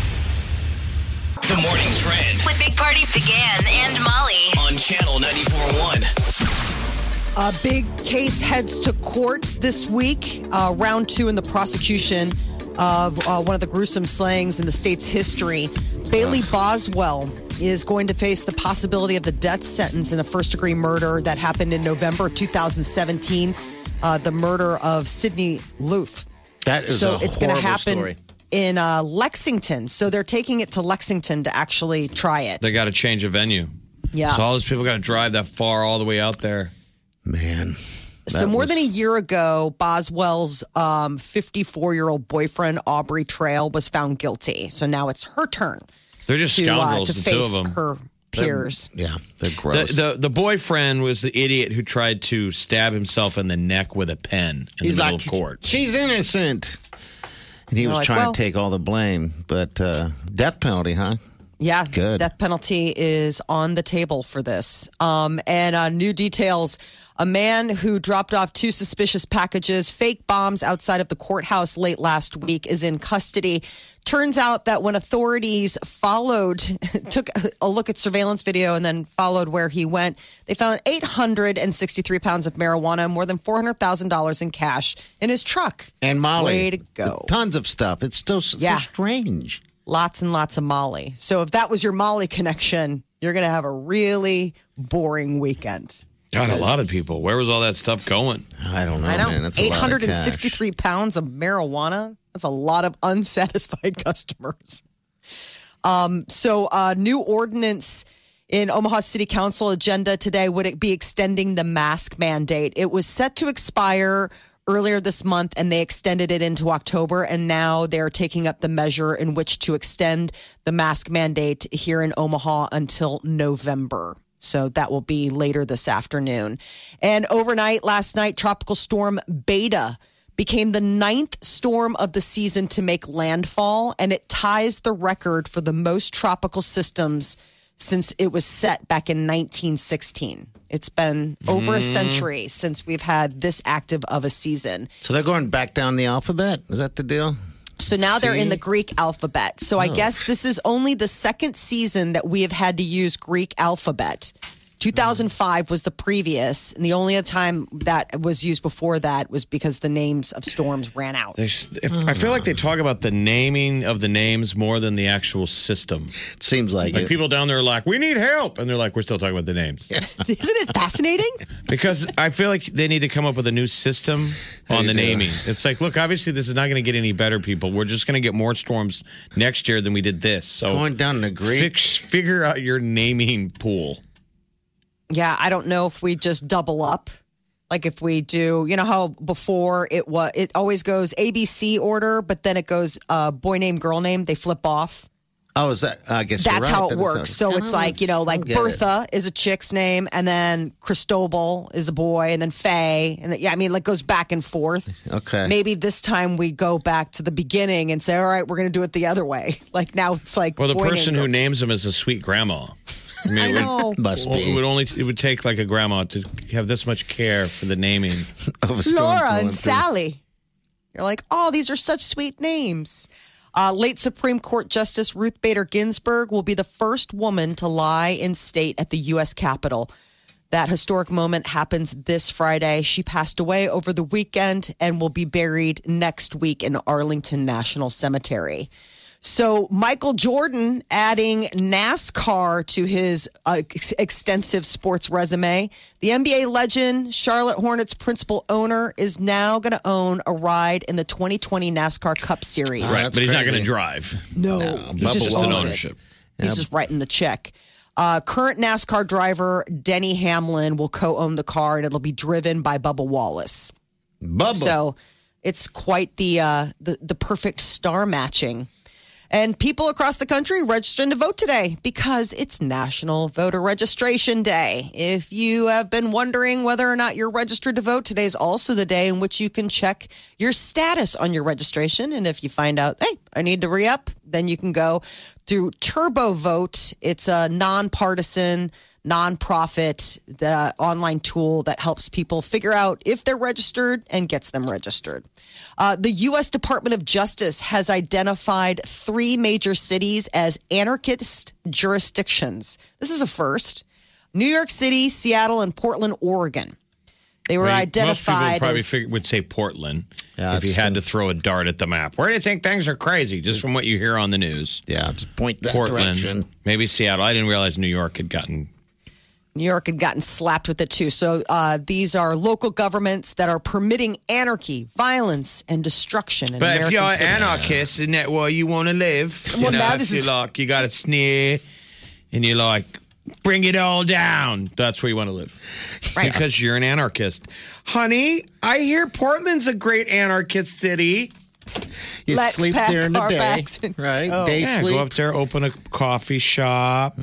The Morning Trend With Big Party, DeGan, and Molly on Channel 94.1. A big case heads to court this week, round 2 in the prosecution of one of the gruesome slayings in the state's history. Bailey Boswell is going to face the possibility of the death sentence in a first-degree murder that happened in November of 2017, the murder of Sidney Luth. That is so a it's going to horrible happen story. in Lexington. So they're taking it to Lexington to actually try it. They got to change a venue. Yeah. So all those people got to drive that far all the way out there. Man. So more than a year ago, Boswell's 54-year-old boyfriend, Aubrey Trail, was found guilty. So now it's her turn They're just scoundrels, to the two of face them. her peers. Yeah, they're gross. The boyfriend was the idiot who tried to stab himself in the neck with a pen in the middle of court. She's innocent. And he was like, trying well- to take all the blame. But death penalty, huh? Yeah, Good. death penalty is on the table for this. And new details. A man who dropped off 2 suspicious packages, fake bombs outside of the courthouse late last week is in custody. Turns out that when authorities took a look at surveillance video and then followed where he went, they found 863 pounds of marijuana and more than $400,000 in cash in his truck. And Molly. Way to go. Tons of stuff. It's still so strange. Lots and lots of Molly. So if that was your Molly connection, you're going to have a really boring weekend. God, a lot of people. Where was all that stuff going? I don't know, I know. man. That's a lot of 863 pounds of marijuana. That's a lot of unsatisfied customers. New ordinance in Omaha City Council agenda today would it be extending the mask mandate. It was set to expire earlier this month, and they extended it into October, and now they're taking up the measure in which to extend the mask mandate here in Omaha until November. So that will be later this afternoon. And overnight, last night, Tropical Storm Beta became the 9th storm of the season to make landfall, and it ties the record for the most tropical systems since it was set back in 1916. It's been over a century since we've had this active of a season. So they're going back down the alphabet? Is that the deal? So now they're in the Greek alphabet. So I guess this is only the second season that we have had to use Greek alphabet 2005 was the previous, and the only other time that was used before that was because the names of storms ran out. I feel like they talk about the naming of the names more than the actual system. It seems like it. People down there are like, we need help. And they're like, we're still talking about the names. Isn't it fascinating? Because I feel like they need to come up with a new system on the naming. It's like, look, obviously this is not going to get any better, people. We're just going to get more storms next year than we did this. So going down to Greek. Figure out your naming pool. Yeah, I don't know if we just double up. Like if we do, you know how before it always goes ABC order, but then it goes boy name, girl name. They flip off. Oh, is that? I guess that's you're right. how it works. So it's like, like Bertha is a chick's name, and then Cristobal is a boy, and then Faye, and like goes back and forth. Okay. Maybe this time we go back to the beginning and say, all right, we're going to do it the other way. Like now it's like. Well, the person who names them is a sweet grandma. I mean, I know. Must be. It would take like a grandma to have this much care for the naming of a storm. Laura and Sally. You're like, oh, these are such sweet names. Late Supreme Court Justice Ruth Bader Ginsburg will be the first woman to lie in state at the U.S. Capitol. That historic moment happens this Friday. She passed away over the weekend and will be buried next week in Arlington National Cemetery. So Michael Jordan adding NASCAR to his extensive sports resume. The NBA legend, Charlotte Hornets principal owner, is now going to own a ride in the 2020 NASCAR Cup Series. Right, but he's not going to drive. No, he's just an owns ownership. it. He's just writing the check. Current NASCAR driver Denny Hamlin will co-own the car, and it'll be driven by Bubba Wallace. So it's quite the perfect star matching. And people across the country registering to vote today because it's National Voter Registration Day. If you have been wondering whether or not you're registered to vote, today is also the day in which you can check your status on your registration. And if you find out, hey, I need to re-up, then you can go through Turbo Vote. It's a nonpartisan, nonprofit, the online tool that helps people figure out if they're registered and gets them registered. The U.S. Department of Justice has identified 3 major cities as anarchist jurisdictions. This is a first. New York City, Seattle, and Portland, Oregon. They were identified most people would say Portland Yeah, if you had to throw a dart at the map. Where do you think things are crazy? Just from what you hear on the news. Yeah, just point that Portland, direction. Maybe Seattle. I didn't realize New York had gotten slapped with it too. So these are local governments that are permitting anarchy, violence, and destruction. In But American if you're an cities. anarchist, isn't that where you want to live? Well, you know, now if this is- you like, you got to sneer, and you're like, bring it all down. That's where you want to live. Right. Because you're an anarchist. Honey, I hear Portland's a great anarchist city. You Let's sleep pack there in the our day, bags. right? Oh. Day Yeah, sleep. go up there, open a coffee shop.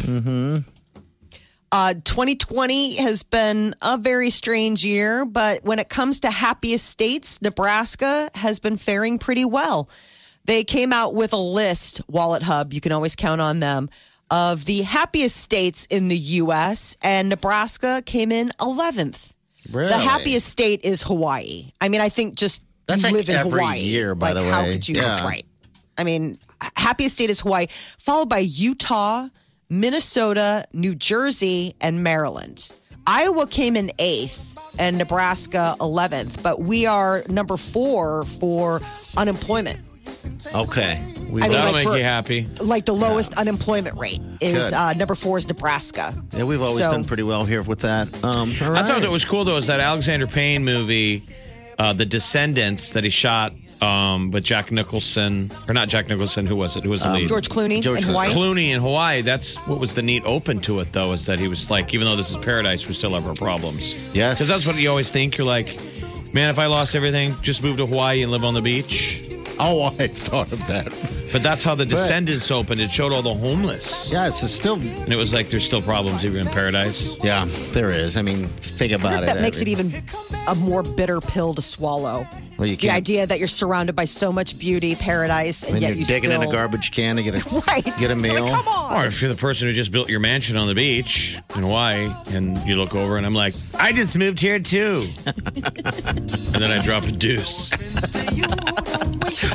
2020 has been a very strange year, but when it comes to happiest states, Nebraska has been faring pretty well. They came out with a list, Wallet Hub, you can always count on them, of the happiest states in the U.S., and Nebraska came in 11th. Really? The happiest state is Hawaii. I mean, I think just That's you like live in every Hawaii. year, by the How way. could you Yeah. right? I mean, happiest state is Hawaii, followed by Utah, Minnesota, New Jersey, and Maryland. Iowa came in 8th and Nebraska 11th, but we are number 4 for unemployment. Okay. I mean, That'll like make for- you happy. Like the lowest unemployment rate is Good. number 4 is Nebraska. Yeah, we've always So- done pretty well here with that. All I right. thought that was cool, though, is that Alexander Payne movie, The Descendants, that he shot with Jack Nicholson. Or not Jack Nicholson, who was it? Who was the lead? George Clooney George in Hawaii. Clooney in Hawaii. That's what was the neat open to it, though, is that he was like, even though this is paradise, we still have our problems. Yes. Because that's what you always think. You're like, man, if I lost everything, just move to Hawaii and live on the beach. Oh, I thought of that. But that's how The Descendants opened. It showed all the homeless. Yes, it's still. And it was like, there's still problems even in paradise. Yeah, there is. I mean, think I about think it. that makes it even a more bitter pill to swallow. Well, you The can't. idea that you're surrounded by so much beauty, paradise, and When yet you're you digging still in a garbage can to get a right. get a meal. Like, come on. Or if you're the person who just built your mansion on the beach in Hawaii and you look over and I'm like, I just moved here too. And then I drop a deuce.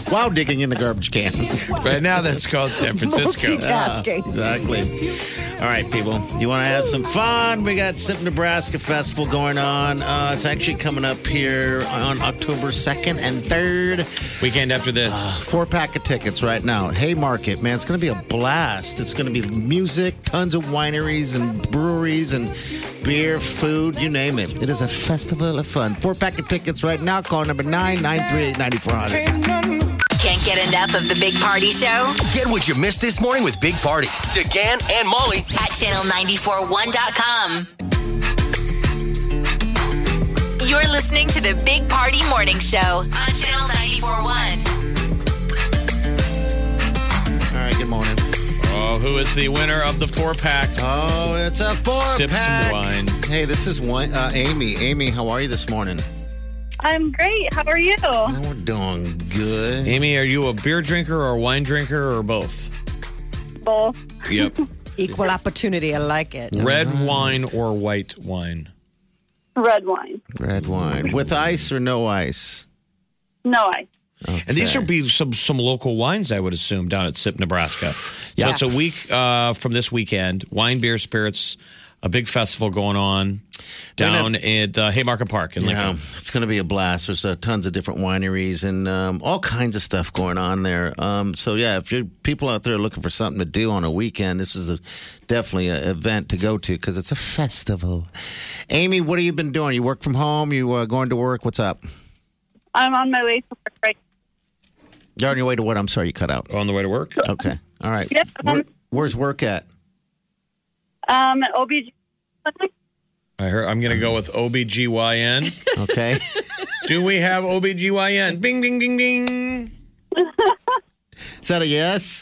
while digging in the garbage can. Right now, that's called San Francisco. Multitasking. Exactly. All right, people. You want to have some fun? We got SIP Nebraska Festival going on. It's actually coming up here on October 2nd and 3rd. Weekend after this. 4-pack of tickets right now. Haymarket, man. It's going to be a blast. It's going to be music, tons of wineries and breweries and beer, food, you name it. It is a festival of fun. 4-pack of tickets right now. Call number 938-9400. Can't get enough of the Big Party Show? Get what you missed this morning with Big Party, DeGan and Molly At channel941.com. You're listening to the Big Party Morning Show on Channel 941. All right, good morning. Oh, who is the winner of the 4-pack? Oh, it's a 4-pack. Sip some wine. Hey, this is Amy. Amy, how are you this morning? I'm great. How are you? Oh, we're doing good. Amy, are you a beer drinker or a wine drinker or both? Both. Yep. Equal opportunity. I like it. Red wine or white wine? Red wine. Red wine. With ice or no ice? No ice. Okay. And these will be some local wines, I would assume, down at SIP, Nebraska. Yeah. So it's a week from this weekend. Wine, beer, spirits, a big festival going on down at Haymarket Park in Lincoln. Yeah, it's going to be a blast. There's tons of different wineries and all kinds of stuff going on there. So, yeah, if you're people out there looking for something to do on a weekend, this is definitely an event to go to because it's a festival. Amy, what have you been doing? You work from home? You going to work? What's up? I'm on my way to work right You're on your way to what? I'm sorry, you cut out. On the way to work? Okay. All right. Yep. Where's work at? OBG. I'm going to go with OBGYN. Okay. Do we have OBGYN? Bing, ding, ding, ding. Is that a yes?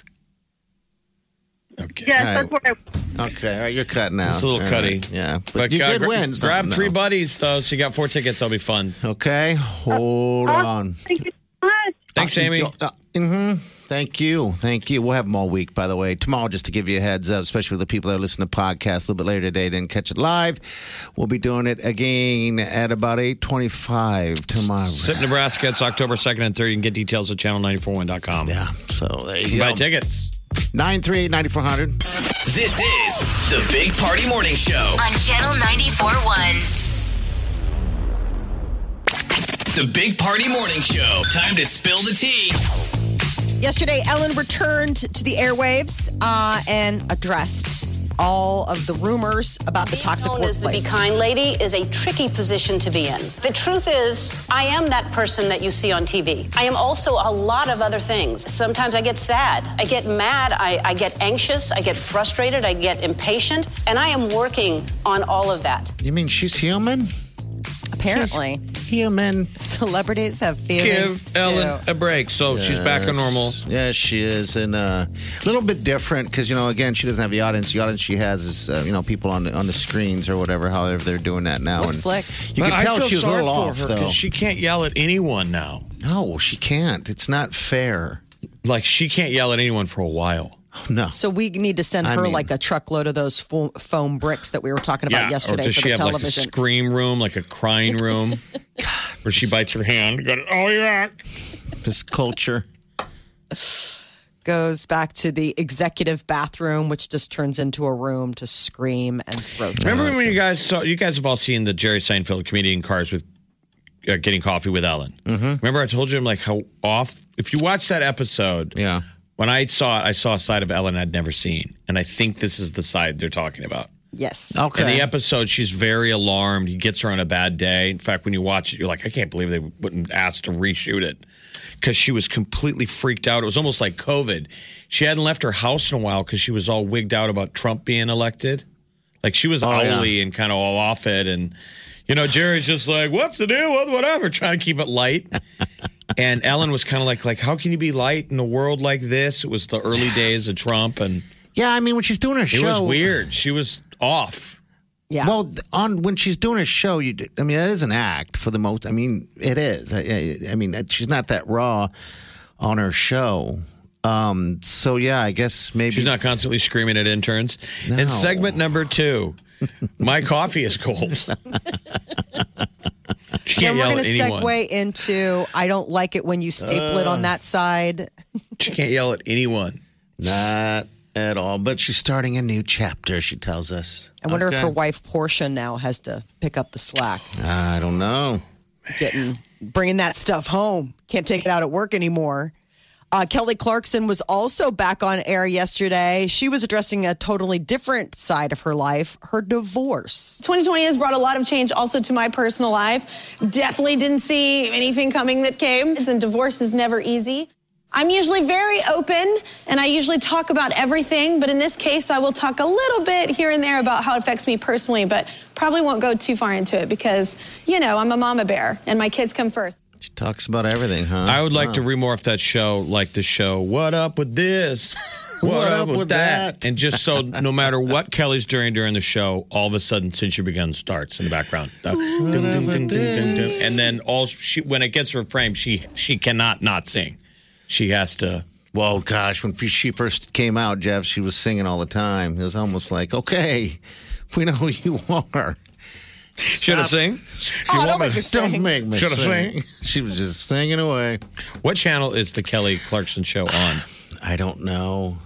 Okay. Yes, All right. that's where Okay. All right. You're cutting out. It's a little All cutty. right. Yeah. But you did win. Grab something, 3 though. buddies, though, so you got 4 tickets. That'll be fun. Okay. Hold on. Thank you so much. Thanks, Amy. Thank you. Thank you. We'll have them all week, by the way. Tomorrow, just to give you a heads up, especially for the people that listen to podcasts a little bit later today, didn't catch it live. We'll be doing it again at about 8:25 tomorrow. SIP, Nebraska. It's October 2nd and 3rd. You can get details at channel941.com. Yeah. So there you Buy go. tickets. 938-9400. This is the Big Party Morning Show. On Channel 941. The Big Party Morning Show. Time to spill the tea. Yesterday, Ellen returned to the airwaves and addressed all of the rumors about the toxic Being known as the workplace. Be Kind Lady is a tricky position to be in. The truth is, I am that person that you see on TV. I am also a lot of other things. Sometimes I get sad, I get mad, I get anxious, I get frustrated, I get impatient, and I am working on all of that. You mean she's human? Apparently, Human. celebrities have feelings Give Ellen too. a break. So she's back to normal. Yes, she is. And a little bit different because, again, she doesn't have the audience. The audience she has is, people on the screens or whatever, however they're doing that now. Looks slick. You But can I tell feel she was a sorry little for off, her though. because she can't yell at anyone now. No, she can't. It's not fair. Like, she can't yell at anyone for a while. No. So we need to send I her mean- like a truckload of those foam bricks that we were talking about yesterday or does for she the have like a television. scream room, like a crying room, where she bites her hand? Oh yeah. This culture. Goes back to the executive bathroom, which just turns into a room to scream and throw things. Remember when you guys have all seen the Jerry Seinfeld comedian Cars with Getting Coffee with Ellen? Mm-hmm. Remember I told you like how off. If you watch that episode, Yeah. when I saw it, I saw a side of Ellen I'd never seen, and I think this is the side they're talking about. Yes. Okay. In the episode, she's very alarmed. He gets her on a bad day. In fact, when you watch it, you're like, I can't believe they wouldn't ask to reshoot it because she was completely freaked out. It was almost like COVID. She hadn't left her house in a while because she was all wigged out about Trump being elected. Like she was owly and kind of all off it. And, Jerry's just like, what's the deal with whatever, trying to keep it light. And Ellen was kind of like, how can you be light in a world like this? It was the early days of Trump. And Yeah, I mean, when she's doing her show. it was weird. She was off. Yeah. Well, when she's doing a show, that is an act for the most. I mean, it is. I mean, she's not that raw on her show. So yeah, I guess maybe She's not constantly screaming at interns. No. And segment number 2, my coffee is cold. She can't Then we're yell going at to anyone. segue into I don't like it when you staple it on that side. She can't yell at anyone. Not at all. But she's starting a new chapter, she tells us. I wonder if Okay. her wife Portia now has to pick up the slack, I don't know. bringing that stuff home. Can't take it out at work anymore. Kelly Clarkson was also back on air yesterday. She was addressing a totally different side of her life, her divorce. 2020 has brought a lot of change also to my personal life. Definitely didn't see anything coming that came. And divorce is never easy. I'm usually very open and I usually talk about everything, but in this case, I will talk a little bit here and there about how it affects me personally, but probably won't go too far into it because, I'm a mama bear and my kids come first. She talks about everything, huh? I would like to remorph that show like the show, What Up With This? What Up With That? And just so no matter what Kelly's doing during the show, all of a sudden, Since You Begun starts in the background. Ding, ding, ding, ding, ding, ding. And then when it gets to her frame, she cannot not sing. She has to. Well, gosh, when she first came out, Jeff, she was singing all the time. It was almost like, okay, we know who you are. Should I sing? Don't make me sing. Don't make me Should I sing. She was just singing away. What channel is the Kelly Clarkson show on? I don't know.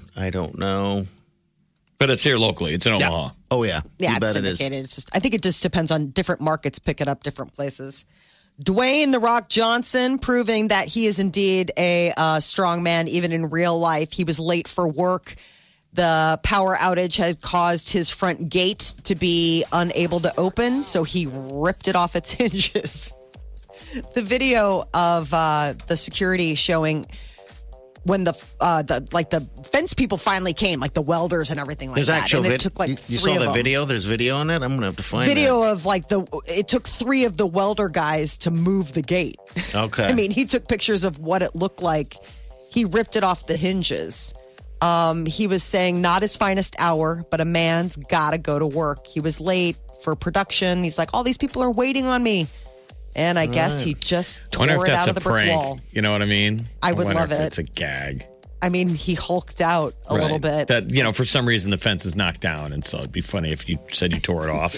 But it's here locally. It's in Omaha. Oh, yeah. Yeah, You it's bet it is. syndicated. I think it just depends on different markets pick it up different places. Dwayne The Rock Johnson proving that he is indeed a strong man, even in real life. He was late for work. The power outage had caused his front gate to be unable to open, so he ripped it off its hinges. The video of the security showing when the fence people finally came, like the welders and everything like There's that. actual And it video. took like You three saw of the them. video? There's video on it? I'm going to have to find Video of it took 3 of the welder guys to move the gate. Okay. I mean, he took pictures of what it looked like. He ripped it off the hinges. He was saying not his finest hour, but a man's got to go to work. He was late for production. He's like, all these people are waiting on me. And I guess he just I tore wonder if it that's out a of the brick prank. wall. You know what I mean? I would wonder love if it. It's a gag. I mean, he hulked out a little bit. That, for some reason, the fence is knocked down. And so it'd be funny if you said you tore it off.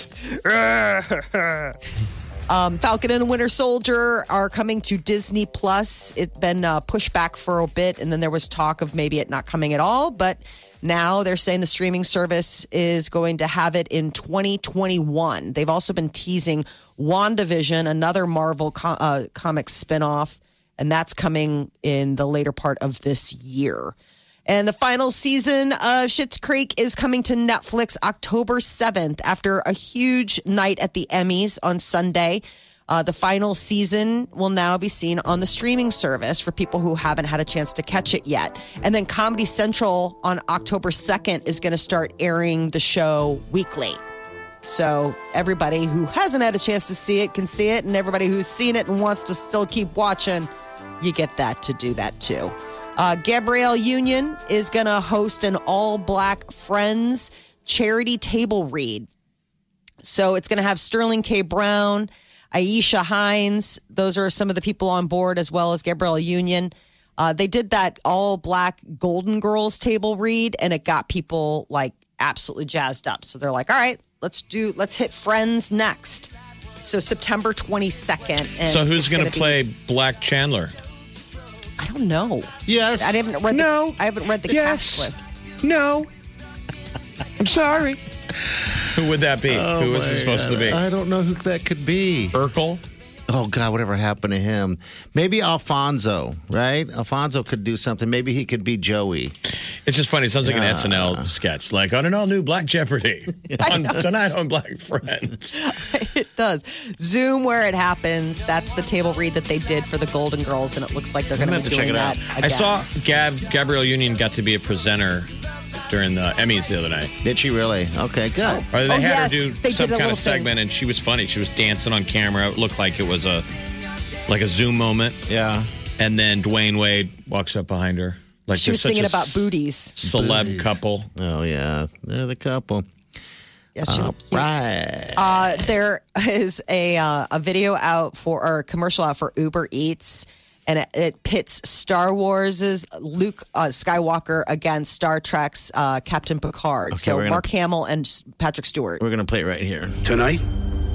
Falcon and the Winter Soldier are coming to Disney Plus. It's been pushed back for a bit, and then there was talk of maybe it not coming at all. But now they're saying the streaming service is going to have it in 2021. They've also been teasing WandaVision, another Marvel comics spinoff, and that's coming in the later part of this year. And the final season of Schitt's Creek is coming to Netflix October 7th after a huge night at the Emmys on Sunday. The final season will now be seen on the streaming service for people who haven't had a chance to catch it yet. And then Comedy Central on October 2nd is going to start airing the show weekly. So everybody who hasn't had a chance to see it can see it. And everybody who's seen it and wants to still keep watching, you get that to do that too. Gabrielle Union is going to host an all-black Friends charity table read. So it's going to have Sterling K. Brown, Aisha Hines. Those are some of the people on board, as well as Gabrielle Union. They did that all-black Golden Girls table read, and it got people like absolutely jazzed up. So they're like, all right, let's hit Friends next. So September 22nd. And So who's it's going gonna to play Black Chandler? I don't know. Yes. I haven't read the cast list. No. I'm sorry. Who would that be? Who is it supposed to be? I don't know who that could be. Urkel? Oh, God, whatever happened to him? Maybe Alfonso, right? Alfonso could do something. Maybe he could be Joey. It's just funny. It sounds like an SNL sketch, like on an all-new Black Jeopardy. Tonight on Black Friends. It does. Zoom where it happens. That's the table read that they did for the Golden Girls, and it looks like they're going to be doing that again. I saw Gabrielle Union got to be a presenter during the Emmys the other night. Did she really? Okay, good. Or they had her do they some did a kind little of segment, and she was funny. She was dancing on camera. It looked like it was a Zoom moment. Yeah. And then Dwayne Wade walks up behind her. Like She was they're such singing a about booties. Celeb couple. Oh, yeah. They're the couple. Yeah, she looked cute. Right. There is a video out for, or a commercial out for Uber Eats, and it pits Star Wars' Luke Skywalker against Star Trek's Captain Picard. Okay, So we're gonna- Mark Hamill and Patrick Stewart. We're going to play it right here. Tonight,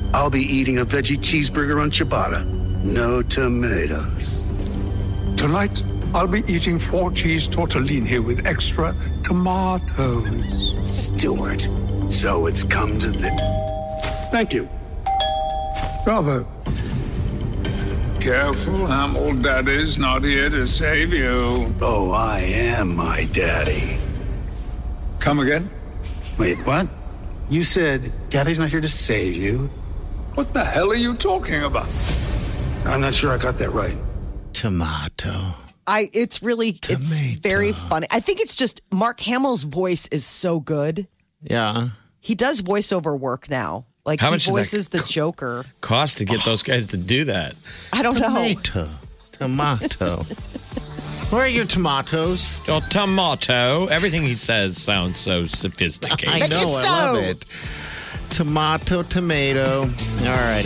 I'll be eating a veggie cheeseburger on ciabatta. No tomatoes. Tonight, I'll be eating 4 cheese tortellini with extra tomatoes. Stuart, so it's come to this. Thank you. Bravo. Careful, Hamill. Daddy's not here to save you. Oh, I am my daddy. Come again? Wait, what? You said Daddy's not here to save you? What the hell are you talking about? I'm not sure I got that right. Tomato. It's very funny. I think it's just Mark Hamill's voice is so good. Yeah. He does voiceover work now. Like How he much voices the Joker. Cost to get those guys to do that? I don't know. Tomato. Where are your tomatoes? Oh, tomato. Everything he says sounds so sophisticated. I know, I love it. Tomato, tomato. All right,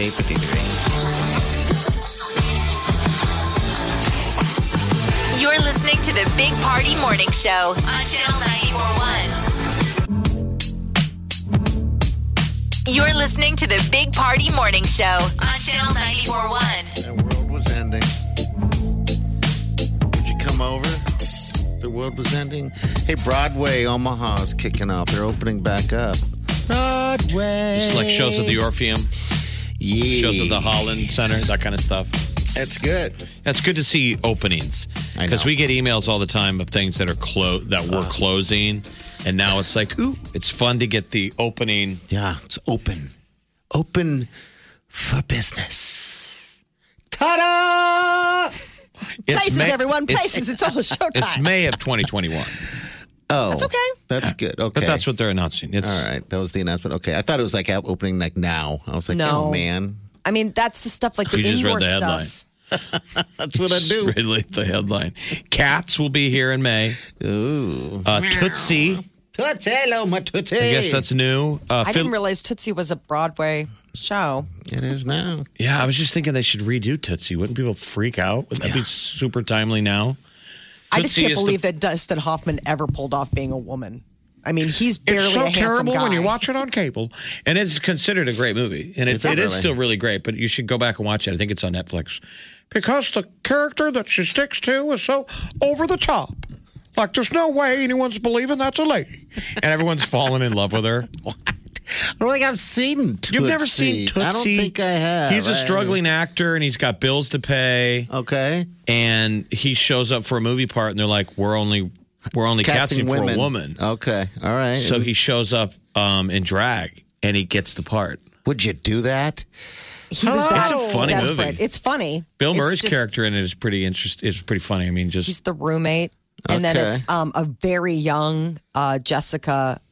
8:53. You're listening to the Big Party Morning Show on Channel 94.1. You're listening to the Big Party Morning Show on Channel 94.1. The world was ending. Would you come over? The world was ending. Hey, Broadway, Omaha's kicking off. They're opening back up. Broadway. Just like shows at the Orpheum. Yeah. Shows at the Holland Center, that kind of stuff. That's good. That's good to see openings because we get emails all the time of things that are were closing, and now it's like, ooh, it's fun to get the opening. Yeah, it's open for business. Ta-da! Places, everyone. Places. It's all showtime. It's May of 2021. Oh, that's okay. That's good. Okay, but that's what they're announcing. It's all right. That was the announcement. Okay, I thought it was like opening like now. I was like, no. Oh man. I mean, that's the stuff like the you just indoor read the stuff. Headline. That's what I do. Really, the headline. Cats will be here in May. Ooh. Tootsie. Tootsie, hello, my Tootsie. I guess that's new. I didn't realize Tootsie was a Broadway show. It is now. Yeah, I was just thinking they should redo Tootsie. Wouldn't people freak out? Would that be super timely now? I just can't believe that Dustin Hoffman ever pulled off being a woman. I mean, he's barely it's so a handsome terrible guy. when you watch it on cable. And it's considered a great movie. And it is still really great, but you should go back and watch it. I think it's on Netflix. Because the character that she sticks to is so over the top. Like, there's no way anyone's believing that's a lady. And everyone's falling in love with her. What? I don't think I've seen Tootsie. You've never seen Tootsie? I don't think I have. He's a struggling actor, and he's got bills to pay. Okay. And he shows up for a movie part, and they're like, we're only casting for a woman. Okay. All right. So he shows up in drag, and he gets the part. Would you do that? He was that It's a funny desperate. movie. It's funny. Bill Murray's character in it is pretty interesting. It's pretty funny. I mean, he's the roommate, and then it's a very young Jessica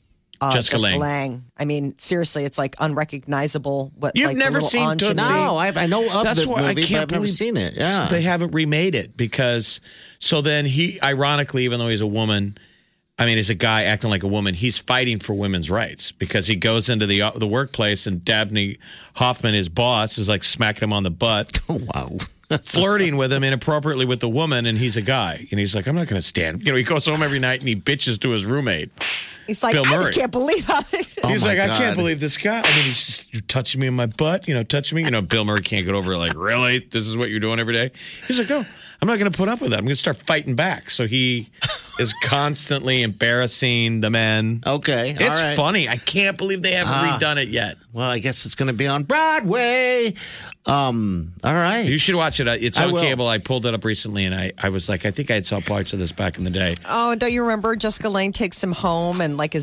Lange. I mean, seriously, it's like unrecognizable. You've never seen Tootsie? No, I know of That's the why movie, I can't but I've never seen it. Yeah, they haven't remade it because. So then he, ironically, even though he's a woman, I mean, he's a guy acting like a woman. He's fighting for women's rights because he goes into the workplace and Dabney Hoffman, his boss, is like smacking him on the butt. Oh wow. Flirting with him inappropriately with the woman, and he's a guy, and he's like, "I'm not going to stand." You know, he goes home every night and he bitches to his roommate. He's like, Bill I Murray. just can't believe how. He's like, I can't believe this guy. I mean, he's just touching me in my butt, touching me. Bill Murray can't get over it. Like, really? This is what you're doing every day? He's like, no, I'm not going to put up with that. I'm going to start fighting back. So he is constantly embarrassing the men. Okay. It's funny. I can't believe they haven't redone it yet. Well, I guess it's going to be on Broadway. All right. You should watch it. It's on cable. I pulled it up recently, and I was like, I think I had saw parts of this back in the day. Oh, don't you remember Jessica Lange takes him home, and like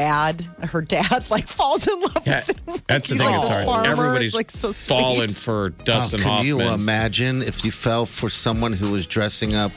her dad, like falls in love with him. That's the thing. It's hard. Farmer. Everybody's like so falling for Dustin Hoffman. Can you imagine if you fell for someone who was dressing up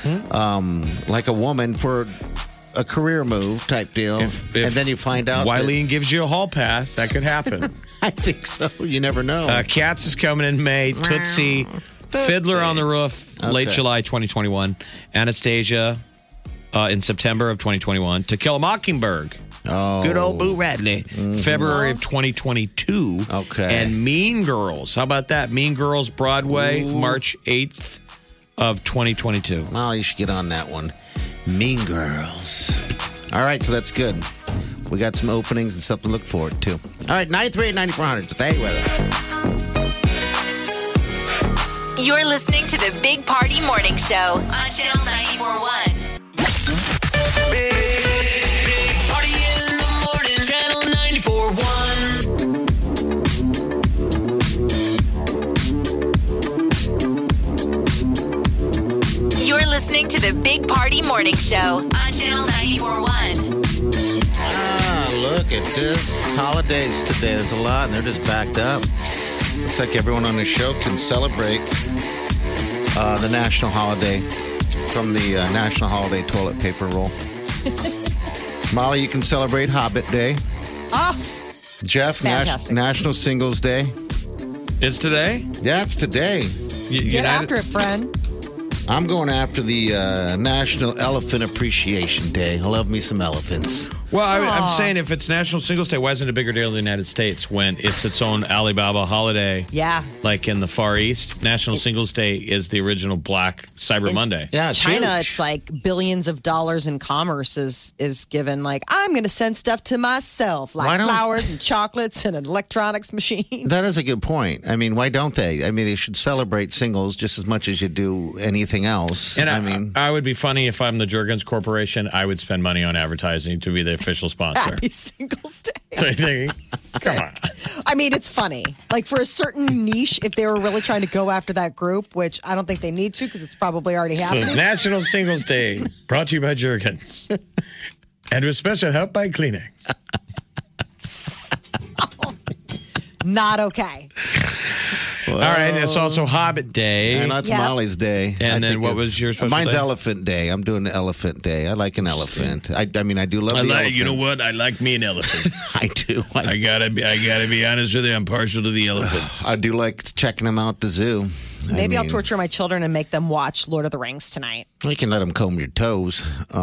like a woman for a career move type deal, and then you find out Wileen gives you a hall pass? That could happen. I think so. You never know. Cats is coming in May. Tootsie, Fiddler on the Roof, late July 2021. Anastasia in September of 2021. To Kill a Mockingbird. Oh, good old Boo Radley. February of 2022. Okay. And Mean Girls. How about that? Mean Girls Broadway, March 8th of 2022. Well, you should get on that one. Mean Girls. All right, so that's good. We got some openings and stuff to look forward to. All right, 938-9400. Stay with us. You're listening to the Big Party Morning Show on Channel 94.1. Big Party in the morning. Channel 94.1. You're listening to the Big Party Morning Show on Channel 94.1. Look at this. Holidays today. There's a lot, and they're just backed up. Looks like everyone on the show can celebrate the national holiday from the National Holiday Toilet Paper Roll. Molly, you can celebrate Hobbit Day. Jeff, National Singles Day. It's today? Yeah, it's today. Get after it, friend. I'm going after the National Elephant Appreciation Day. I love me some elephants. Well, I'm saying if it's National Singles Day, why isn't it a bigger deal in the United States when it's its own Alibaba holiday? Yeah. Like in the Far East, National Singles Day is the original Black Cyber Monday. Yeah, it's China, huge. it's like billions of dollars in commerce is given. Like, I'm going to send stuff to myself, like flowers and chocolates and an electronics machine. That is a good point. I mean, why don't they? I mean, they should celebrate singles just as much as you do anything else. And I mean, I would be funny if I'm the Jergens Corporation. I would spend money on advertising to be the official sponsor. Happy Singles Day. So you think, come on. I mean, it's funny. Like for a certain niche, if they were really trying to go after that group, which I don't think they need to because it's probably already So happening. it's National Singles Day, brought to you by Jergens. And with special help by Kleenex. Not okay. well, All right, and it's also Hobbit Day. and that's Molly's day. And then what of- was your special Mine's day? Elephant Day. I'm doing the Elephant Day. I like an elephant. I mean, I do love the elephants. You know what? I like me an elephant. I do. I gotta be honest with you. I'm partial to the elephants. I do like checking them out at the zoo. Maybe I'll torture my children and make them watch Lord of the Rings tonight. You can let them comb your toes.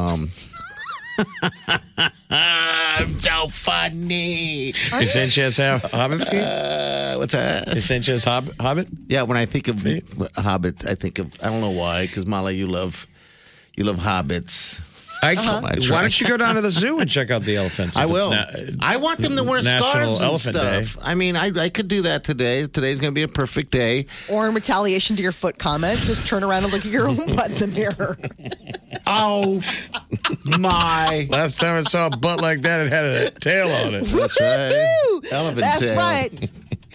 I'm so funny. You Sanchez Hobbit? What's that? You Sanchez Hobbit? Yeah, when I think of Hobbit, I think of I don't know why, because Molly, you love hobbits. Why Right. don't you go down to the zoo and check out the elephants? I if it's will. I want them to wear National scarves and Elephant stuff. I mean, I could do that today. Today's going to be a perfect day. Or in retaliation to your foot comment, just turn around and look at your own butt in the mirror. Oh, my. Last time I saw a butt like that, it had a tail on it. That's right. Elephant That's tail. right.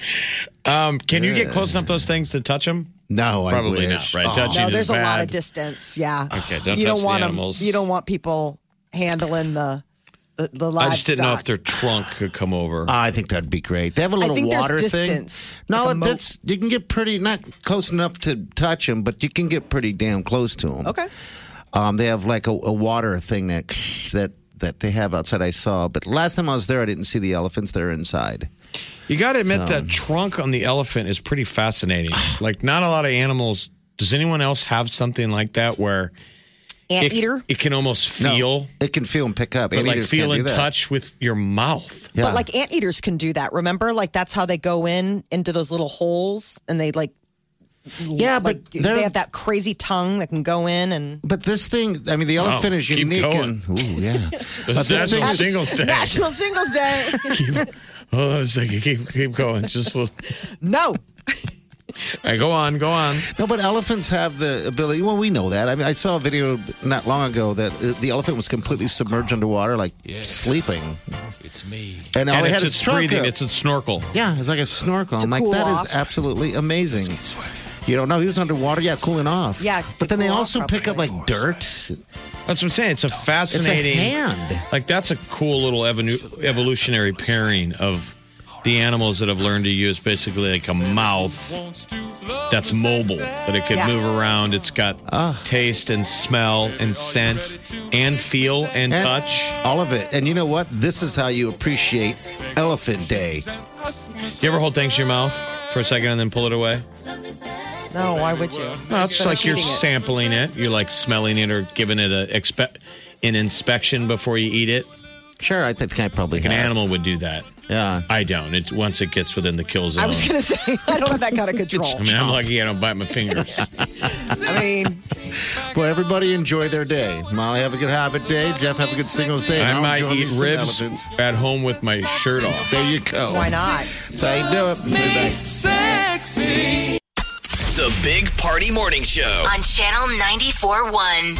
Can you get close enough those things to touch them? No, Probably I not, wish. right? Oh. Touching No, is there's a lot bad. of distance. Yeah. Okay, don't you touch don't want the 'em- animals. You don't want people handling the livestock. I just didn't know if their trunk could come over. I think that'd be great. They have a little think there's water distance, thing. No, like a moat. that's you can get pretty not close enough to touch them, but you can get pretty damn close to them. Okay. They have like a water thing that they have outside. I saw, but last time I was there, I didn't see the elephants. They're inside. You got to admit that trunk on the elephant is pretty fascinating. Like, not a lot of animals. Does anyone else have something like that where Anteater? it can almost feel, No, it can feel and pick up. but like Anteaters feel can't in do that. touch with your mouth? Yeah. But like anteaters can do that. Remember? Like that's how they go into those little holes and they like yeah, but like they have that crazy tongue that can go in and But this thing, I mean, the elephant is keep unique. going. And, ooh, yeah. That's National Singles Day. National Singles Day. Hold on a second. Keep going. Just a little. No. All right, go on. No, but elephants have the ability. Well, we know that. I mean, I saw a video not long ago that the elephant was completely submerged underwater, like sleeping. It's me. And all And they had it's is its trunk breathing. up. It's a snorkel. Yeah, it's like a snorkel. I'm like, cool that is off. absolutely amazing. You don't know. He was underwater, cooling off. Yeah, But then they cool off, also pick up like dirt. That's what I'm saying. It's a fascinating. It's a hand. Like, that's a cool little evolutionary pairing of the animals that have learned to use basically like a mouth that's mobile, that it could move around. It's got taste and smell and scent and feel and touch. All of it. And you know what? This is how you appreciate Elephant Day. You ever hold things in your mouth for a second and then pull it away? No, why would you? No, it's Just like finish you're eating it. sampling it. You're like smelling it or giving it an inspection before you eat it. Sure, I think I probably Like an have. animal would do that. Yeah. I don't. Once it gets within the kill zone. I was going to say, I don't have that kind of control. I mean, I'm lucky I don't bite my fingers. I mean, Well, everybody enjoy their day. Molly, have a good Habit day. Jeff, have a good Singles day. I And I'll might join eat these ribs elephants. at home with my shirt off. There you go. why not? That's how you do it. We'll be back. Sexy. The Big Party Morning Show. On Channel 94.1.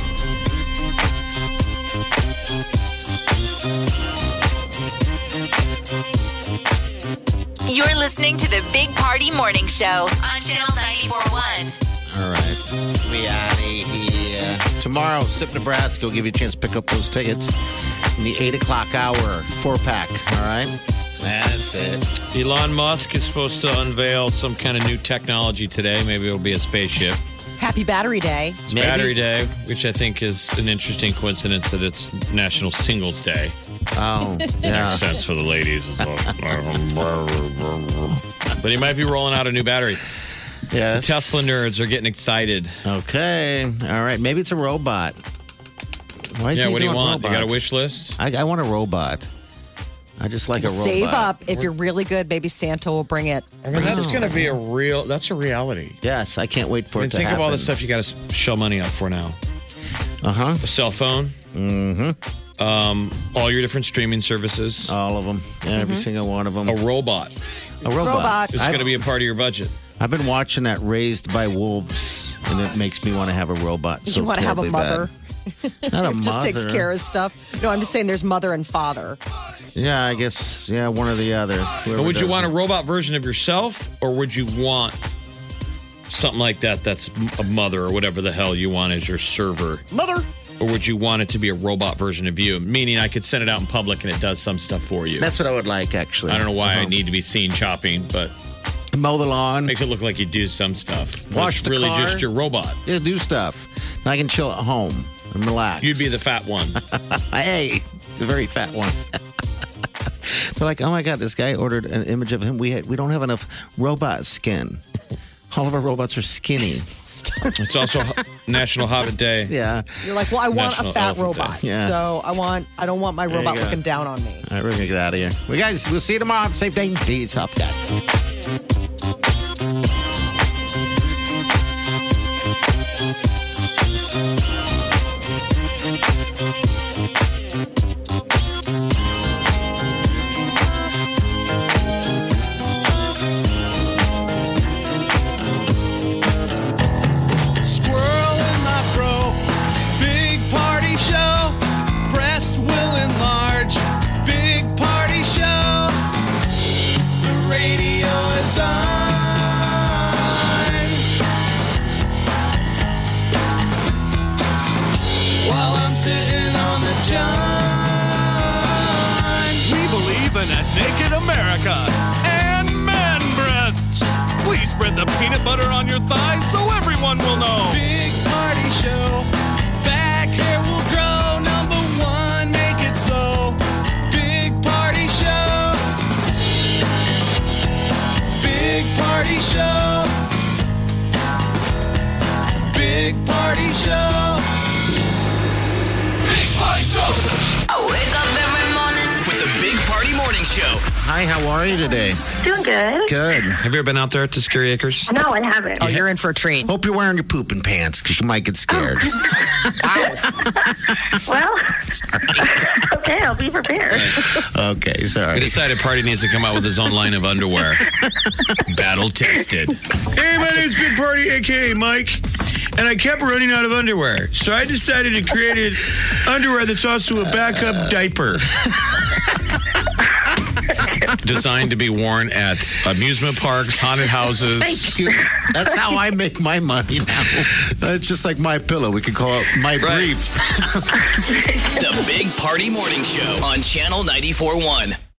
You're listening to the Big Party Morning Show on Channel 94.1. All right. We out of here. Tomorrow, SIP Nebraska will give you a chance to pick up those tickets in the 8 o'clock hour. 4-pack. All right? That's it. Elon Musk is supposed to unveil some kind of new technology today. Maybe it'll be a spaceship. Happy Battery Day. It's Battery Day, which I think is an interesting coincidence that it's National Singles Day. Oh, yeah. Makes sense for the ladies. But he might be rolling out a new battery. Yes. Tesla nerds are getting excited. Okay. All right. Maybe it's a robot. Why is Yeah, he what do you doing want? You got a robots? wish list? I want a robot. I just like a robot. Save up. If you're really good, maybe Santa will bring it. I mean, that's going to be that's a reality. Yes, I can't wait for I mean, it to think happen. of all the stuff you got to shell money up for now. Uh-huh. A cell phone. Mm-hmm. All your different streaming services. All of them. Every single one of them. A robot. A robot. It's going to be a part of your budget. I've been watching that Raised by Wolves, and it makes me want to have a robot. So You want to have a terribly mother? bad. Not a mother. Just takes care of stuff. No, I'm just saying there's mother and father. Yeah, I guess. Yeah, one or the other. But would you want a robot version of yourself, or would you want something like that that's a mother or whatever the hell you want as your server? Mother. Or would you want it to be a robot version of you? Meaning I could send it out in public and it does some stuff for you. That's what I would like, actually. I don't know why I need to be seen chopping, but mow the lawn. Makes it look like you do some stuff. Wash it's the really car. just your robot. Yeah, do stuff. And I can chill at home and relax. You'd be the fat one. Hey, the very fat one. They're like, oh my God, this guy ordered an image of him. We don't have enough robot skin. All of our robots are skinny. It's also National Hobbit Day. Yeah. You're like, well, I want National a fat Elephant robot. Day. Yeah. So I don't want my There you robot go. looking down on me. All right, we're going to get out of here. Well, guys, we'll see you tomorrow. Safe day. Be tough guy. Squirrel in my fro. Big party show. Breast will enlarge. Big party show. The radio is on. While I'm sitting on the john. We believe in a naked America and man breasts. Please spread the peanut butter on your thighs so everyone will know. Big party show. Back hair will grow. Number one, make it so. Big party show. Big party show. Big party show. Big party show. I wake up every morning. With the Big Party Morning Show. Hi, how are you today? Doing good. Good. Have you ever been out there to Scary Acres? No, I haven't. Oh, you're in for a treat. Hope you're wearing your pooping pants because you might get scared. Well, okay, I'll be prepared. Okay, sorry. We decided Party needs to come out with his own line of underwear. Battle tested. Hey, my name's Big Party, a.k.a. Mike. And I kept running out of underwear. So I decided to create underwear that's also a backup diaper. Designed to be worn at amusement parks, haunted houses. Thank you. That's how I make my money now. It's just like My Pillow. We could call it My Briefs. The Big Party Morning Show on Channel 94.1.